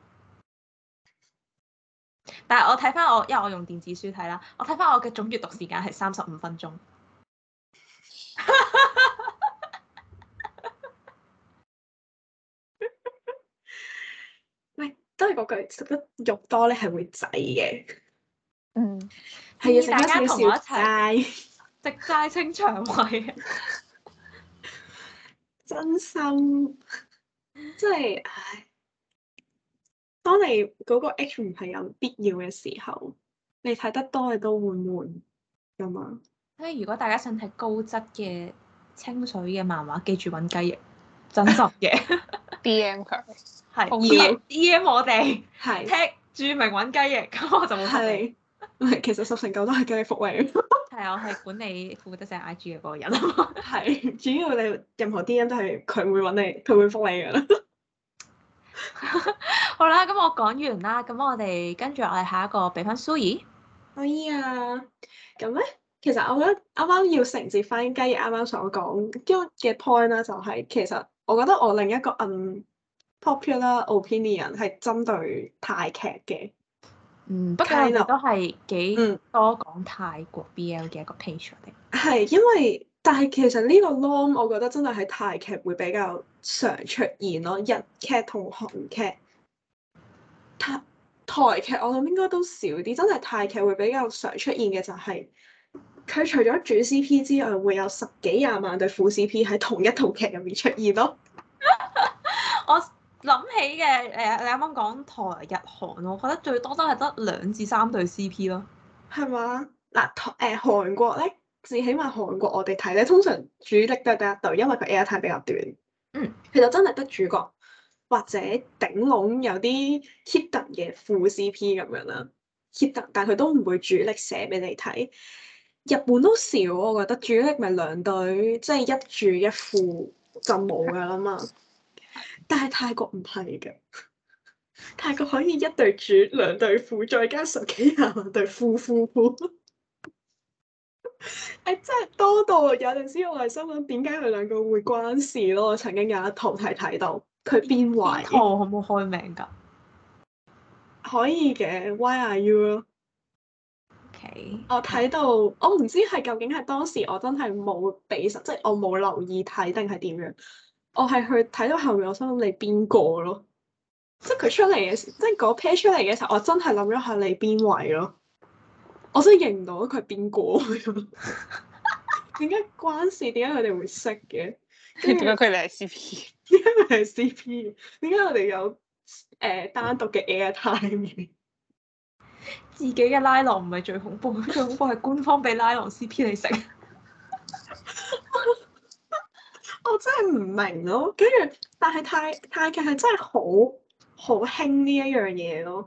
Speaker 1: 但係我睇翻因為我用電子書睇啦，我睇翻我嘅總閱讀時間係35分鐘。
Speaker 2: 喂，都係嗰句，食得肉多咧係會滯嘅。
Speaker 1: 建議
Speaker 2: 係要
Speaker 1: 大家同我一齊
Speaker 2: 齊
Speaker 1: 食齋清腸胃。
Speaker 2: 真心，即係唉。當你嗰個 H 唔係有必要嘅時候，你睇得多你都會悶㗎嘛。
Speaker 1: 所以如果大家想睇高質嘅清水嘅漫畫，記住揾雞翼，真實嘅。
Speaker 3: DM 佢
Speaker 1: 係
Speaker 3: 要
Speaker 1: DM 我哋
Speaker 2: 係
Speaker 1: 踢注明揾雞翼，咁我就會覆你。
Speaker 2: 唔係，其實10成9都係雞翼福利。
Speaker 1: 係我係管理負責寫 IG 嘅嗰個人啊嘛。
Speaker 2: 係，主要你任何 DM 都係佢會揾你，佢會覆你㗎啦。
Speaker 1: 好啦，咁我講完啦，咁我哋跟住我哋下一個俾翻 Sui。
Speaker 2: 可以啊，咁咧，其實我覺得啱啱要承接翻雞翼啱啱所講嘅 point 啦，就係其實我覺得我另一個unpopular opinion 係針對泰劇嘅。
Speaker 1: 不過我哋都係幾多講泰國 BL 嘅一個 page 嚟。
Speaker 2: 係因為，但係其實呢個 norm 我覺得真係喺泰劇會比較常出現咯，日劇同韓劇。台劇我諗應該都少啲，真係泰劇會比較常出現嘅就係、佢除咗主 CP 之外，會有10幾20萬對副 CP 喺同一套劇入面出現咯。
Speaker 1: 我諗起嘅你啱啱講台日韓，我覺得最多都係得2至3對 CP 咯。
Speaker 2: 係嘛？嗱，韓國咧，至起碼韓國我哋睇咧，通常主力都係得一對，因為佢 airtime 比較短。其實真係得主角。或者頂籠有啲 hidden 嘅副 CP 咁樣啦，hidden，但佢都唔會主力寫俾你睇。日本都少，我覺得主力咪2對，即係一主一副就冇噶啦嘛。但係泰國唔係嘅，泰國可以1對主2對副，再加10幾20萬對副。真係多到有陣時我係心諗點解佢2個會關事咯？我曾經有一套係睇到。佢邊位？
Speaker 1: 套可唔可以開名㗎？
Speaker 2: 可以嘅 ，Why are you 咯
Speaker 1: ？OK。
Speaker 2: 我睇到，我唔知係究竟係當時我真係冇俾實，即係我冇留意睇定係點樣。我係去睇到後面，我心諗你邊個咯？即係佢出嚟嘅時，即係嗰 pair 出嚟嘅時候，我真係諗咗下你邊位咯。我真係認唔到佢係邊個。點解關事？點解佢哋會識嘅？
Speaker 3: 點解佢哋係 CP？
Speaker 2: 點解佢哋係 CP？點解我哋有單獨嘅 airtime？
Speaker 1: 自己嘅拉郎唔係最恐怖，最恐怖係官方俾拉郎 CP 你食。
Speaker 2: 我真係唔明咯，跟住但係泰劇係真係好興呢一樣嘢咯。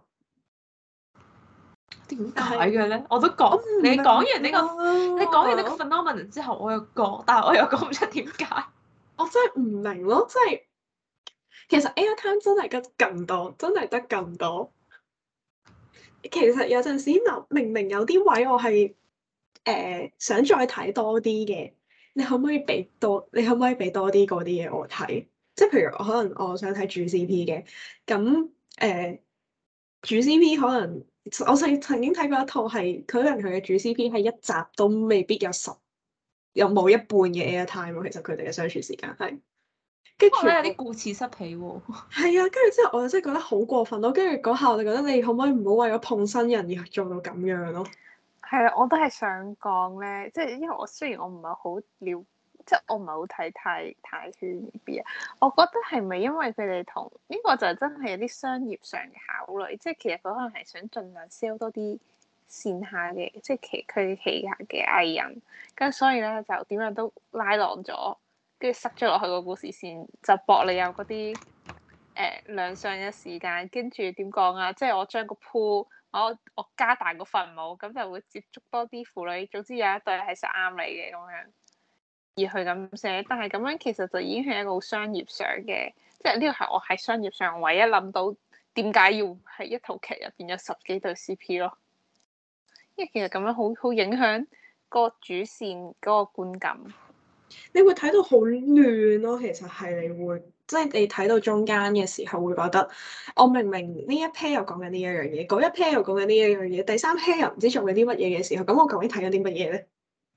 Speaker 1: 點解嘅咧？我都講你講完呢
Speaker 2: 你
Speaker 1: 講完呢個 phenomenon 之後，我又講，但係我又講唔出點解。
Speaker 2: 我真係唔明咯，即係其實 airtime 真係得咁多，真係得咁多。其實有陣時明明有啲位我係想再睇多啲嘅，你可唔可以俾多啲嗰啲嘢我睇？即係譬如可能我想睇主 CP 嘅，咁主 CP 可能我曾經睇過一套係，可能佢嘅主 CP 係一集都未必有冇一半嘅 airtime 喎。其實佢哋嘅相處時間係，跟住
Speaker 1: 有啲顧此失彼喎。
Speaker 2: 係啊，跟住之後我就真係覺得好過分咯。跟住嗰下我就覺得你可唔可以唔好為咗碰新人而做到咁樣咯？
Speaker 3: 係啊，我都係想講咧，即係因為我雖然我唔係好即係我唔係好睇泰圈呢邊啊，我覺得係咪因為佢哋同呢個就真係有啲商業上嘅考慮，即係其實佢可能係想盡量 sell 多啲線下嘅，即係佢旗下嘅藝人，咁所以咧就點樣都拉攏咗跟住塞咗落去個故事線，就博你有嗰啲兩相嘅時間，跟住點講啊？即係我將個 pool，我加大個分母，咁就會接觸多啲婦女。總之有一對係實啱你嘅咁樣，而去咁寫。但係咁樣其實就已經係一個好商業上嘅，即係呢個係我喺商業上唯一諗到點解要喺一套劇入邊有10幾對 CP 咯。因為其實咁樣好影響個主線嗰個觀感。
Speaker 2: 你會睇到好亂咯，其實係你會，即係你睇到中間嘅時候會覺得，我明明呢一 pair 又講緊呢一樣嘢，嗰一 pair 又講緊呢一樣嘢，第三 pair 又唔知做緊啲乜嘢嘅時候，咁我究竟睇緊啲乜嘢咧？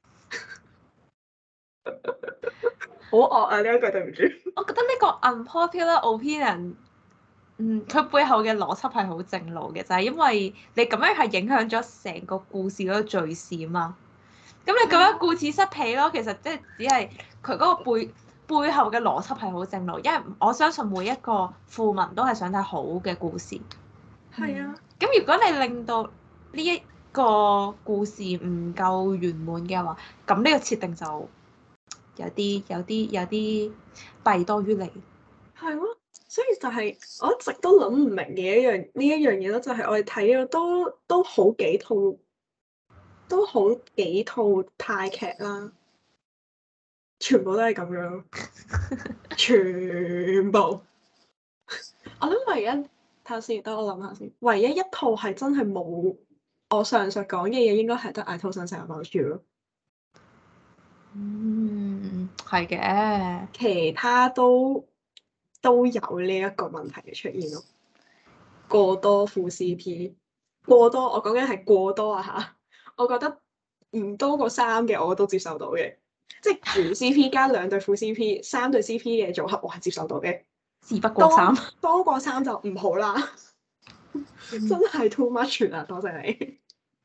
Speaker 2: 好惡啊！呢一句對唔住。
Speaker 1: 我覺得呢個 unpopular opinion，佢背後嘅邏輯係好正路嘅，就係因為你咁樣係影響咗成個故事嗰個敘事啊嘛。咁你咁樣顧此失彼咯，其實即係只係佢嗰個背後嘅邏輯係好正路，因為我相信每一個腐民都係想睇好嘅故事。
Speaker 2: 係啊。
Speaker 1: 咁如果你令到呢一個故事唔夠圓滿嘅話，咁呢個設定就有啲弊多於利。
Speaker 2: 係咯，所以就係我一直都諗唔明嘅呢一樣嘢咯，就係我哋睇咗都好幾套泰劇啦，全部都係咁樣，全部。我諗唯一睇下先，等我諗下先，唯一一套係真係冇我上述講嘅嘢，應該係得《I Told Sunset About You》咯。
Speaker 1: 係嘅，
Speaker 2: 其他都有呢一個問題嘅出現咯。過多副 CP，過多我講緊係過多啊嚇！我覺得唔多過3嘅我都接受到嘅，即係原 CP 加2對副 CP，3對 CP 嘅組合我係接受到嘅。
Speaker 1: 事不過3，
Speaker 2: 多過3就唔好啦，真係 too much 啦！多謝你。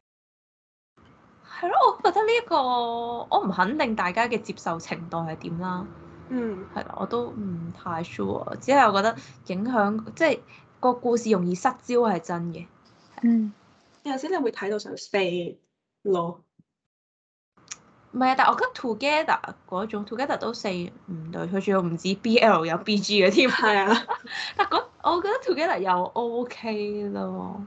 Speaker 1: 係咯，我覺得呢一個我唔肯定大家嘅接受程度係點啦。係啦，我都唔太 sure，只係我覺得影響即係個故事容易失焦係真嘅。
Speaker 2: 有陣時你會睇到想飛咯。
Speaker 1: 唔係啊，但係我覺得 Together 嗰種 Together 都4、5對，佢仲要唔止 BL 有 BG 嘅添。
Speaker 2: 係啊。
Speaker 1: 但我覺得 Together 又 OK 咯。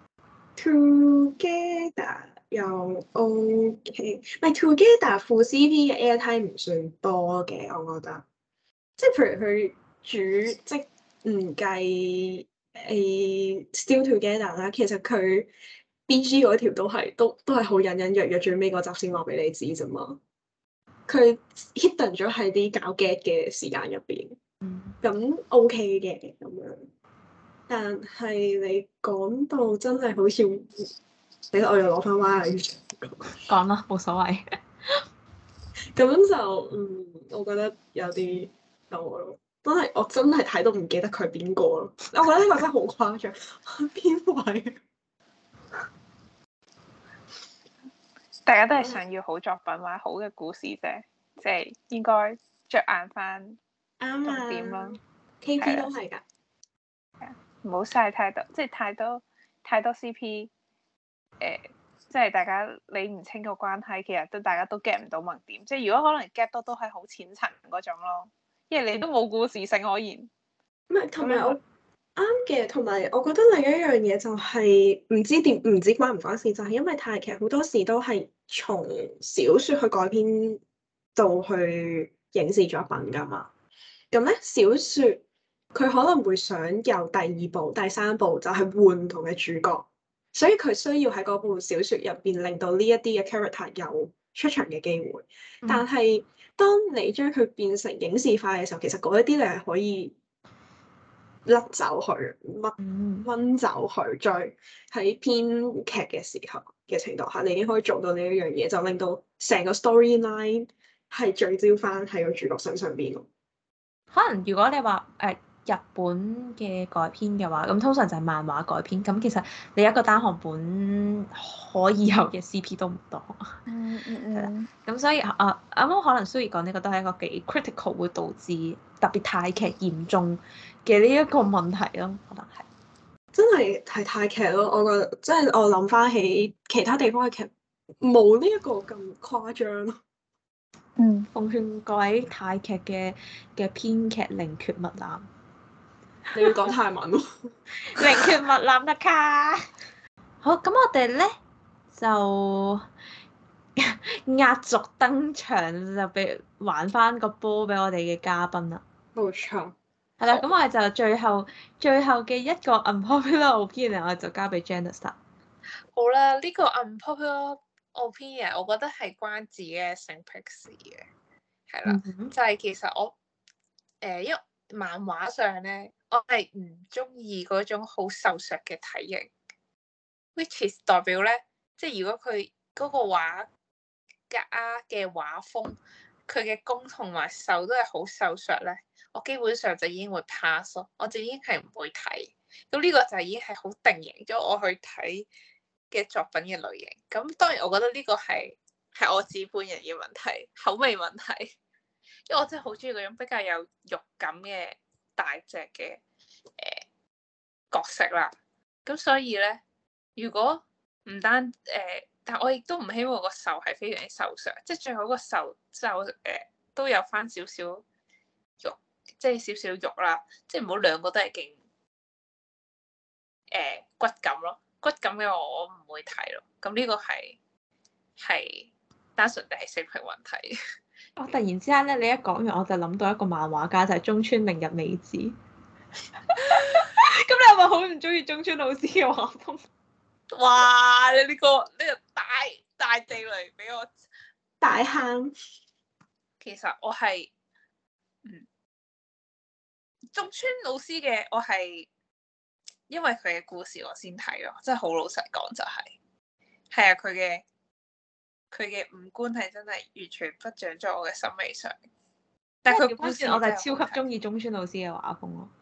Speaker 2: Together 又 OK，唔係 Together 副 CP 嘅 airtime 唔算多嘅，我覺得。即係譬如佢主即唔計Still Together 啦，其實佢 BG 嗰條都係好隱隱約約，最尾嗰集先話俾你知啫嘛。佢 hidden 咗喺啲搞 get 嘅時間入邊，咁 OK 嘅咁樣。但係你講到真係好似，你我又攞翻 Y
Speaker 1: 講啦，冇所謂。
Speaker 2: 咁就我覺得有啲多咯。我真係睇到唔記得佢係邊個咯。我覺得呢個真係好誇張，邊位？
Speaker 3: 大家都係想要好作品或者好嘅故事啫，即係應該着眼翻重點咯。
Speaker 2: KP 都係㗎。
Speaker 3: 唔好嘥太多，即係太多 CP，即係大家理唔清個關係，其實大家都 get 唔到萌點。即係如果可能 get 到都係好淺層嗰種咯，因為你都冇故事性可言。
Speaker 2: 唔係，同埋我啱嘅，同埋我覺得另一樣嘢就係唔知關唔關事，就係因為泰劇好多時都係從小説去改編到去影視作品㗎嘛。咁咧小説佢可能會想有第2部、第3部，就係換唔同嘅主角，所以佢需要喺嗰部小説入邊令到呢一啲嘅 character 有出場嘅機會。但係當你將佢變成影視化嘅時候，其實嗰一啲你係可以甩走佢、掹走佢，再喺編劇嘅時候嘅程度下，你已經可以做到呢一樣嘢，就令到成個 storyline 係聚焦翻喺個主角身上邊咯。
Speaker 1: 可能如果你話日本嘅改編嘅話，咁通常就係漫畫改編。咁其實你一個單行本可以有嘅 CP 都唔多。咁所以啱啱可能蘇怡講呢個都係一個幾 critical 會導致特別泰劇嚴重嘅呢一個問題咯，可能係。
Speaker 2: 真係泰劇咯，我覺得即係我諗翻起其他地方嘅劇冇呢一個咁誇張咯。
Speaker 1: 奉勸各位泰劇嘅編劇寧缺勿濫。
Speaker 2: 你要講泰文喎。
Speaker 1: 寧缺勿濫得卡。好，咁我哋咧就壓軸登場，就俾還翻個波俾我哋嘅嘉賓啦。
Speaker 2: 冇錯。
Speaker 1: 係啦，咁我哋就最後嘅一個 unpopular opinion，我就交俾 Janice 啦。
Speaker 3: 好啦，呢個 unpopular opinion，我覺得係關自己嘅性癖事嘅，係啦，就係其實我因為漫畫上咧，我係唔中意嗰種好瘦削嘅體型，which is 代表咧，即係如果佢嗰個畫家嘅畫風，佢嘅攻同埋受都係好瘦削咧，我基本上就已經會 pass 咯，我就已經係唔會睇。咁呢個就已經係好定型咗我去睇嘅作品嘅類型。咁當然我覺得呢個係我自己本人嘅問題，口味問題。因為我真係好中意嗰種比較有肉感嘅大隻嘅角色啦。咁所以咧，如果唔單但我亦都唔希望個瘦係非常之瘦削，即係最好個瘦都有翻少少肉，即係少少肉啦，即係唔好兩個都係勁骨感咯。骨感嘅我唔會睇咯。咁呢個係單純地係性癖問題。
Speaker 1: 我突然之間咧，你一講完我就諗到一個漫畫家，就係中村明日美子。咁你係咪好唔中意中村老師嘅畫風？
Speaker 3: 哇！你呢個大地雷俾我
Speaker 2: 大坑。
Speaker 3: 其實我係中村老師嘅，我係因為佢嘅故事我先睇咯，真係好老實講就係啊，佢嘅五官係真係完全不長在我嘅審美上，但係佢故事
Speaker 1: 我就係超級中意中村老師嘅畫風咯。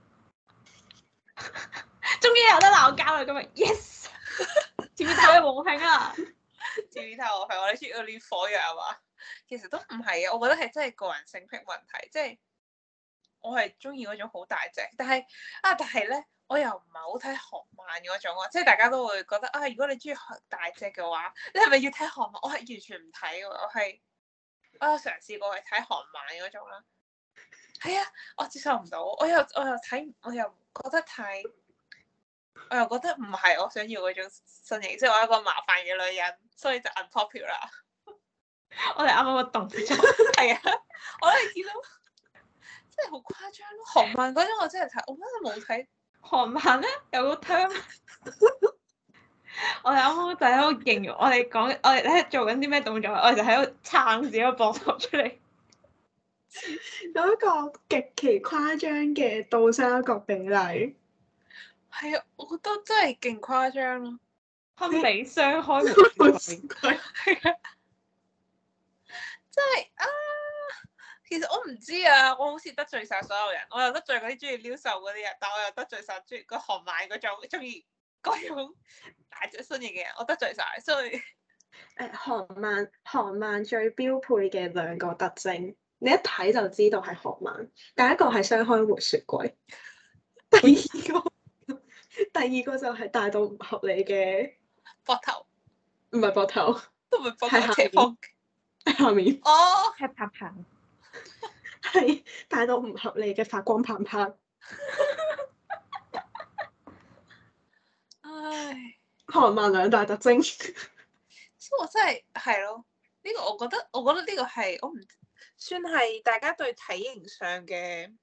Speaker 1: 終於有得鬧交啦！今日 yes， 前面太和平啊！
Speaker 3: 前面太和平，我哋出咗啲火藥啊嘛。其實都唔係嘅，我覺得係真係個人性癖問題，即係我係中意嗰種好大隻，但係咧，我又唔係好睇韓漫嗰種啊，即係大家都會覺得啊，如果你中意大隻嘅話，你係咪要睇韓漫？我係完全唔睇嘅，我有嘗試過去睇韓漫嗰種啦。係啊，我接受唔到，我又睇，我又覺得太，我又覺得唔係我想要嗰種身形，即係我係一個麻煩嘅女人，所以就 unpopular。
Speaker 1: 我哋啱啱個動作
Speaker 3: 係啊，我哋見到真係好誇張咯。韓漫嗰種我真係睇，我真係冇睇。
Speaker 1: 韓漫咧有個 term，我哋啱啱就喺度形容，我哋咧做緊啲咩動作，我哋就喺度撐自己個膊頭出嚟。
Speaker 2: 有一個極其誇張嘅倒三角比例。係
Speaker 3: 啊，我覺得真係勁誇張咯。
Speaker 1: 堪比雙開門雪櫃。
Speaker 3: 係啊。真係啊！其實我唔知啊，我好似得罪晒所有人，我又得罪嗰啲中意撩瘦嗰啲人，但我又得罪晒中意個韓漫嗰種中意嗰種大隻身形嘅人，我得罪晒，所以
Speaker 2: 韓漫最標配嘅兩個特徵，你一睇就知道係韓漫。第一個係雙開門雪櫃，第二個就係大到唔合理嘅
Speaker 3: 膊頭，
Speaker 2: 唔係膊頭，
Speaker 3: 都唔係膊頭，斜方。
Speaker 2: 下面
Speaker 3: 哦，
Speaker 1: 係拍棒，
Speaker 2: 係大到唔合理嘅發光棒棒。
Speaker 3: 唉，
Speaker 2: 韓漫兩大特徵，
Speaker 3: 所以我真係咯，呢個我覺得呢個係我唔算係大家對體型上嘅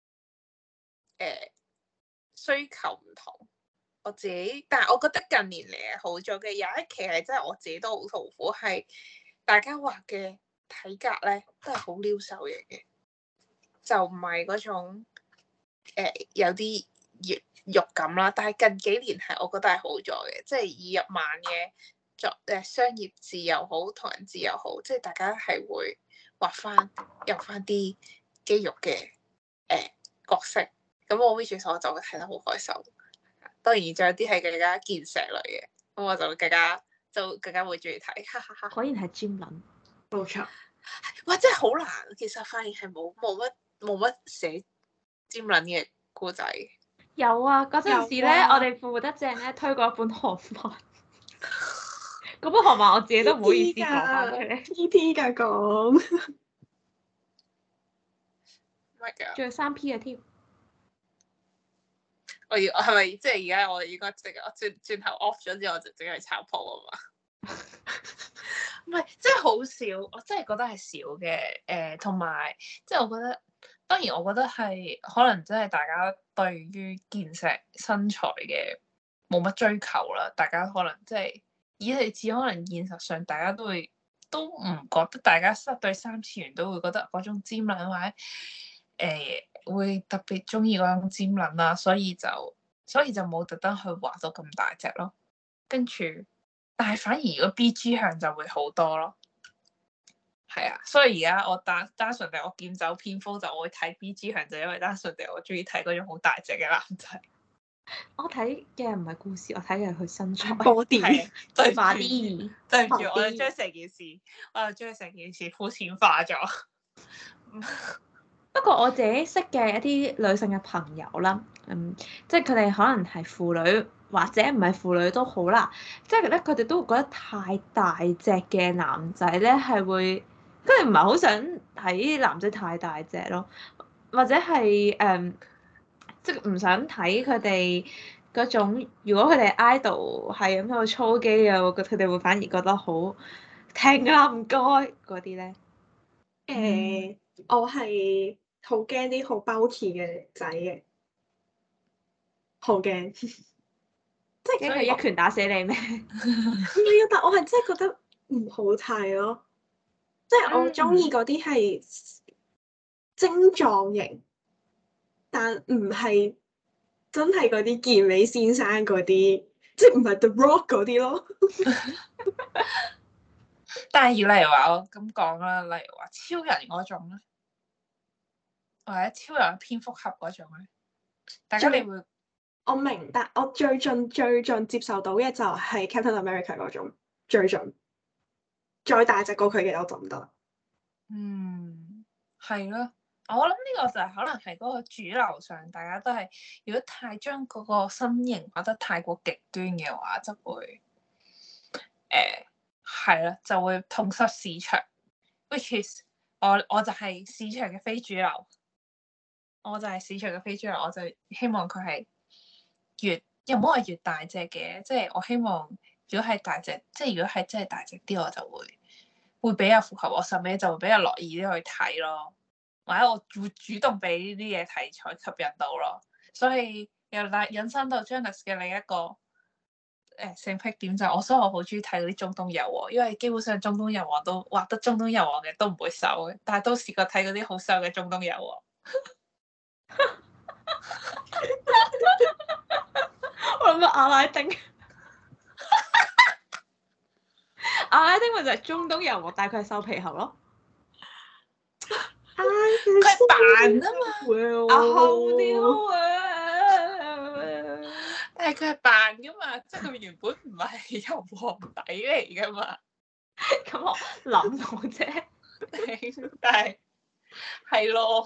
Speaker 3: 需求唔同。我自己，但係我覺得近年嚟係好咗嘅。有一期係真係我自己都好痛苦，係大家畫嘅體格咧都係好撩瘦型嘅，就唔係嗰種有啲肉感啦。但係近幾年係我覺得係好咗嘅，即係以日漫嘅商業字又好，同人字又好，即係大家係會畫翻有翻啲肌肉嘅角色。咁我 which 我就會睇得好開心。當然仲有啲係更加健碩類嘅，咁我就更加會中意睇。哈哈哈！
Speaker 1: 果然係尖撚，
Speaker 2: 冇錯。
Speaker 3: 哇！真係好難，其實發現係冇乜寫尖撚嘅故仔。
Speaker 1: 有啊，嗰陣時咧，我哋腐得正咧推過一本韓漫，嗰本韓漫我自己都唔好意思講翻出嚟。
Speaker 2: T.T. 㗎講。
Speaker 3: my god！
Speaker 1: 仲有3P 嘅添。
Speaker 3: 我係咪即係而家我應該轉頭 off 咗之後，我就淨係炒鋪啊嘛？唔係，真係好少，我真係覺得係少嘅。同埋即係我覺得，當然我覺得係可能真係大家對於健碩身材嘅冇乜追求啦。大家可能即係以你至可能現實上大家都唔覺得大家對3次元都會覺得嗰種尖撚或者會特別中意嗰種尖撚啦，所以就冇特登去畫到咁大隻咯。跟住，但係反而如果 BG 向就會好多咯。係啊，所以而家我單純地我劍走偏鋒就我會睇 BG 向，就因為單純地我中意睇嗰種好大隻嘅男仔。
Speaker 1: 我睇嘅唔係故事，我睇嘅係佢身材。
Speaker 2: body
Speaker 1: 對，body
Speaker 3: 對唔住，我就將成件事膚淺化咗。
Speaker 1: 不過我自己識嘅一啲女性嘅朋友啦，即係佢哋可能係腐女或者唔係腐女都好啦，即係咧佢哋都會覺得太大隻嘅男仔咧係會，佢哋唔係好想睇男仔太大隻咯，或者係即係唔想睇佢哋嗰種，如果佢哋 idol 係咁喺度操肌啊，我覺得佢哋會反而覺得好停啊唔該嗰啲咧。
Speaker 2: 我係好驚啲好 bulky 嘅仔嘅，好驚，即
Speaker 1: 係驚佢一拳打死你咩？
Speaker 2: 唔係啊，但我係真係覺得唔好睇咯，即係我中意嗰啲係精壯型，但唔係真係嗰啲健美先生嗰啲，即係唔係 The Rock 嗰啲咯。
Speaker 3: 但係例如話我咁講啦，例如話超人嗰種咧，或者超人蝙蝠俠嗰種咧，大家你會
Speaker 2: 我明，但我最近接受到嘅就係 Captain America 嗰種，最近再大隻過佢嘅我就唔得。
Speaker 3: 係咯，我諗呢個就係可能係嗰個主流上，大家都係如果太將嗰個身形畫得太過極端嘅話，就會係啦，就會痛失市場。Which is 我就係市場嘅非主流，我就希望佢係又唔好話越大隻嘅，即係我希望如果係大隻，即係如果係真係大隻啲，我就會比較符合我審美，就會比較樂意啲去睇咯，或者我會主動俾呢啲嘢題材吸引到咯，所以又引申到 Janice 嘅另一個性癖點就係所以我好中意睇嗰啲中東油王，因為基本上中東油王都畫得中東油王嘅都唔會瘦嘅，但係都試過睇嗰啲好瘦嘅中東油王。
Speaker 1: 我諗到阿拉丁，阿拉丁咪就係中東油王，但係佢係瘦皮猴咯。
Speaker 3: 佢係扮啊嘛，
Speaker 1: 好啲啊！
Speaker 3: 但係佢係扮噶嘛，即係佢原本唔係油王底嚟噶嘛。
Speaker 1: 咁我諗到啫，
Speaker 3: 但係係咯，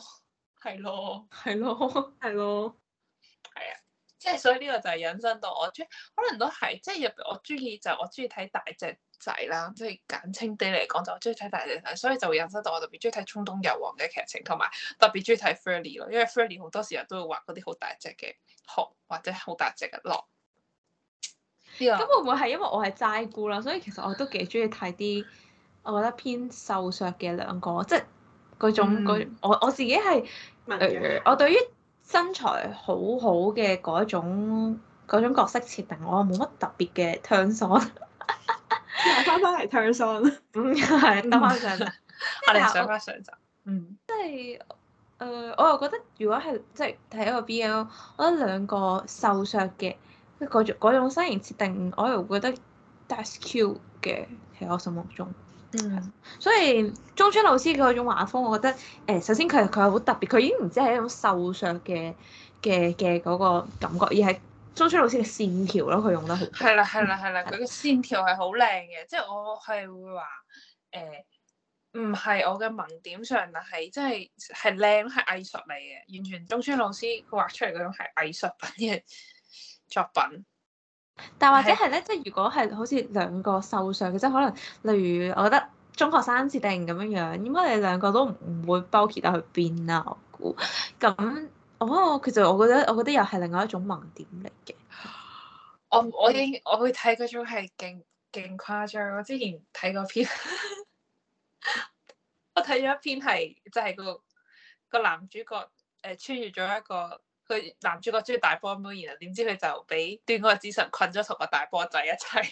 Speaker 3: 即係所以呢個就係引申到我可能都係即係入邊我中意睇大隻仔啦，即係簡稱啲嚟講就中意睇大隻仔，所以就會引申到我特別中意睇中東油王嘅劇情，同埋特別中意睇 Furry 咯，因為 Furry 好多時候都會畫嗰啲好大隻嘅熊或者好大隻嘅狼。
Speaker 1: 咁會唔會係因為我係齋姑啦，所以其實我都幾中意睇啲我覺得偏瘦削嘅兩個，即係嗰種我自己係我對於身材好好嘅嗰種角色設定，我冇乜特別嘅 turn on。
Speaker 2: 翻嚟 turn on，
Speaker 1: 係得翻上集，
Speaker 3: 我哋上翻上集。
Speaker 1: 即係我又覺得如果係即係睇一個 BL，我覺得兩個瘦削嘅嗰種身形設定，我又覺得 that's cute 嘅喺我心目中。所以中村老師嗰種畫風，我覺得首先佢係好特別，佢已經唔止係一種瘦削嘅嗰個感覺，而係中村老師嘅線條咯，佢用得好。
Speaker 3: 係啦，佢嘅線條係好靚嘅，即係我係會話唔係我嘅萌點上，但係即係靚，係藝術嚟嘅，完全中村老師佢畫出嚟嗰種係藝術品嘅作品。
Speaker 1: 但或者係咧，即係如果係好似兩個瘦削嘅，即係可能例如我覺得中學生設定咁樣樣，應該你兩個都唔會 bulky 得去邊啦，我估。咁其實我覺得又係另外一種盲點嚟嘅。
Speaker 3: 我會睇嗰種係勁誇張。我之前睇過篇，我睇咗一篇係即係個男主角穿越咗一個佢男主角中意大波妹，然後點知佢就俾端嗰個之神困咗同個大波仔一齊。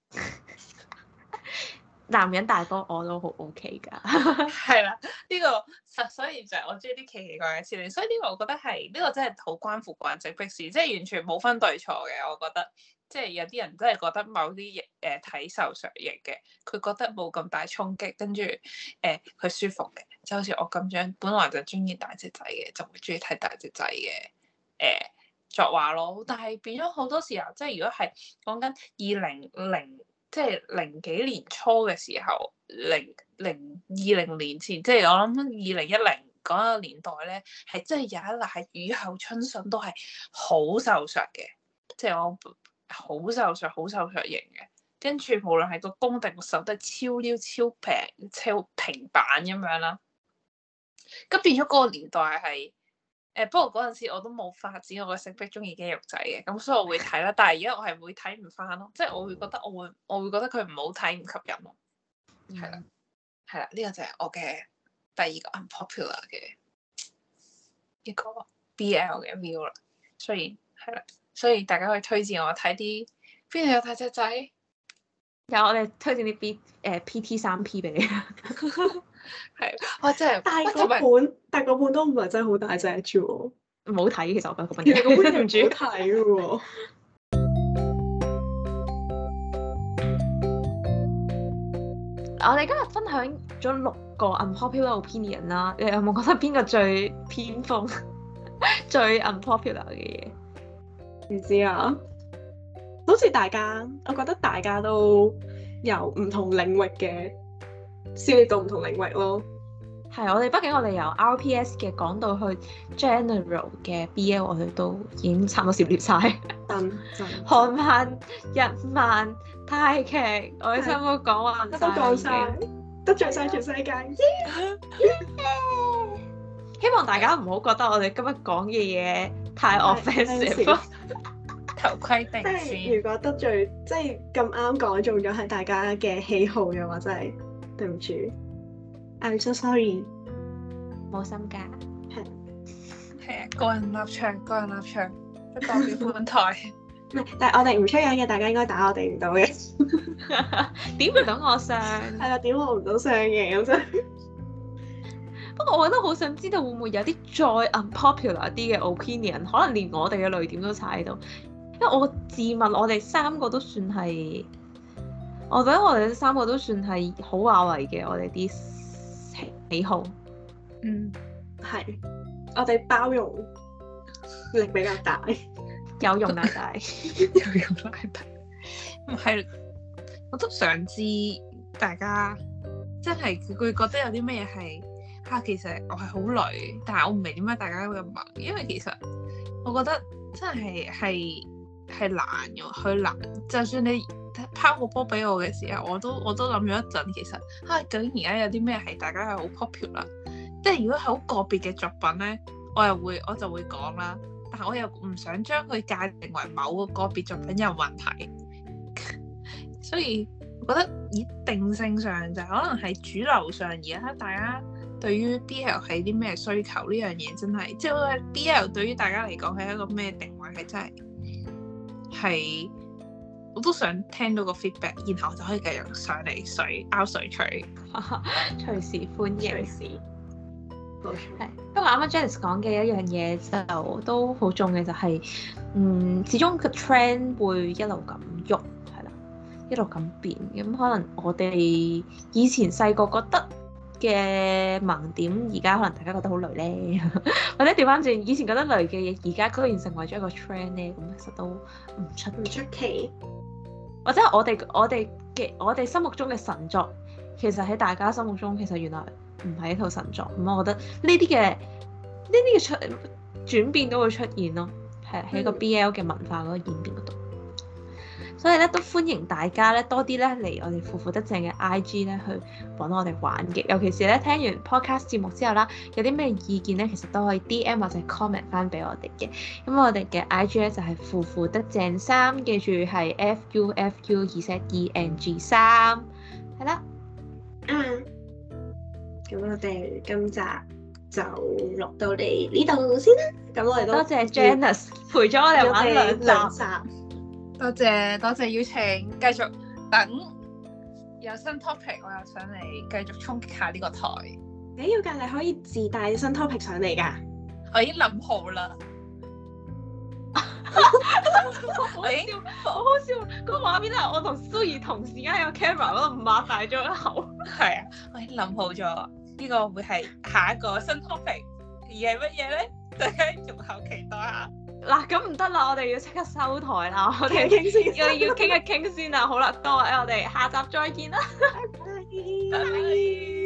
Speaker 1: 男人大波我都好 OK 㗎。
Speaker 3: 係啦，呢個所以就係我中意啲奇奇怪嘅設定，所以呢個我覺得係呢個真係好關乎個人直迫事，即係完全冇分對錯嘅。我覺得即係有啲人真係覺得某啲睇受上型嘅，佢覺得冇咁大衝擊，跟住佢舒服嘅，就好似我咁樣，本來就中意大隻仔嘅，就會中意睇大隻仔嘅作畫咯。但係變咗好多時候，即係如果係講緊即係零幾年初嘅時候，2020年前，即係我諗2010嗰個年代咧，係真係有一賴雨後春筍都係好瘦削嘅，即係我好瘦削型嘅，跟住無論係個攻定個手都係超溜超平超平板咁樣啦。咁變咗嗰個年代係不過嗰陣時我都冇發展我個性癖中意肌肉仔嘅，咁所以我會睇啦。但係而家我係會睇唔翻咯，即係我會覺得我會覺得佢唔好睇唔吸引咯。係啦，呢個就係我嘅第二個 unpopular 嘅一個 BL 嘅 view 啦。所以大家可以推薦我睇啲邊度有大隻仔。
Speaker 1: 有我哋推薦啲PT3P 俾你。
Speaker 3: 係，我真係，
Speaker 2: 但係嗰本都唔係真係好大隻啫喎，
Speaker 1: 唔好睇。其實我覺得嗰本
Speaker 2: 嘢，嗰本
Speaker 1: 唔
Speaker 2: 唔好睇喎。
Speaker 1: 我哋今日分享咗6個 unpopular opinion 啦，你有冇覺得邊個最偏鋒、最 unpopular 嘅嘢？
Speaker 2: 唔知啊，好似我覺得大家都由唔同領域嘅涉獵到唔同領域咯。
Speaker 1: 係，畢竟我哋由 RPS 嘅講到去 general 嘅 BL， 我哋都已經差唔多涉獵晒。韓漫、日漫、泰劇，我哋差唔多講完晒，
Speaker 2: 都講晒，得罪晒全世界。
Speaker 1: 希望大家唔好覺得我哋今日講嘅嘢太 offensive。
Speaker 3: 頭盔定先。
Speaker 2: 即係如果得罪，即係咁啱講中咗係大家嘅喜好嘅話，真係對唔住。I'm so sorry。
Speaker 1: 冇心㗎。
Speaker 3: 係啊，個人立場，不代表本台。
Speaker 2: 唔係，但係我哋唔出樣嘅，大家應該打我哋唔到嘅。
Speaker 1: 點唔到我相？
Speaker 2: 係啦，點我唔到相嘅咁真。
Speaker 1: 不過我覺得好想知道會唔會有啲再 unpopular 啲嘅 opinion， 可能連我哋嘅淚點都踩到。因為我自問我哋3個都算係，我覺得我哋3個都算係好華為嘅，我哋啲喜好。
Speaker 2: 係，我哋包容力比較大，
Speaker 1: 有容乃大，
Speaker 3: 有容乃大。唔係，我都想知大家真係佢覺得有啲咩係其實我係好累，但係我唔明點解大家會咁問，因為其實我覺得真係難嘅，佢難。就算你拋個波俾我嘅時候，我都諗咗一陣，其實究竟而家有啲咩係大家係好 popular？即係如果係好個別嘅作品咧，我就會講啦。但係我又唔想將佢界定為某個別作品有問題，所以我覺得以定性上就可能係主流上而家大家對於 BL 係啲咩需求呢樣嘢真係，即係 BL 對於大家嚟講係一個咩定位係真係，我都想聽到個 feedback， 然後就可以繼續上嚟拗水吹，
Speaker 1: 隨時歡迎。
Speaker 2: 隨時。
Speaker 1: 係，不過啱啱 Janice 講嘅一樣嘢就都好重嘅，就係始終個 trend 會一路咁喐，係啦，一路咁變。咁可能我哋以前細個覺得嘅盲點，而家可能大家覺得好累咧，或者調翻轉，以前覺得累嘅嘢，而家居然成為咗一個 trend 咧，咁其實都唔出奇。或者我哋心目中嘅神作，其實喺大家心目中其實原來唔係一套神作。咁我覺得呢啲嘅轉變都會出現咯，係喺個 BL 嘅文化嗰個演變嗰度。 所以咧都歡迎大家咧多啲咧嚟我哋腐腐得正嘅 IG 咧去揾我哋玩嘅，尤其是咧聽完 podcast 節目之後啦，有啲咩意見咧，其實都可以 DM 或者 comment 翻俾我哋嘅。咁我哋嘅 IG 咧就係腐腐得正3，記住係 FUFU2ZENG3，係啦。
Speaker 2: 咁我哋今集就錄到嚟呢度先啦。咁我哋都
Speaker 1: 多謝 Janice 陪咗我哋玩兩集。
Speaker 3: 多謝邀請，繼續等有新 topic， 我又上嚟繼續衝擊下呢個台。
Speaker 2: 你要㗎，你可以自帶新 topic 上嚟㗎。
Speaker 3: 我已經諗好啦。
Speaker 1: 好好笑！個畫面係我同蘇怡同時間喺個 camera 嗰度擘大咗個口。
Speaker 3: 係啊，我已經諗好咗，呢個會係下一個新 topic，而係乜嘢咧？大家仲後期待下。
Speaker 1: 嗱，咁唔得啦，我哋要即刻收台啦，我哋
Speaker 2: 傾先，
Speaker 1: 要傾一傾先啦。好啦，多謝我哋下集再見啦，
Speaker 2: 拜拜。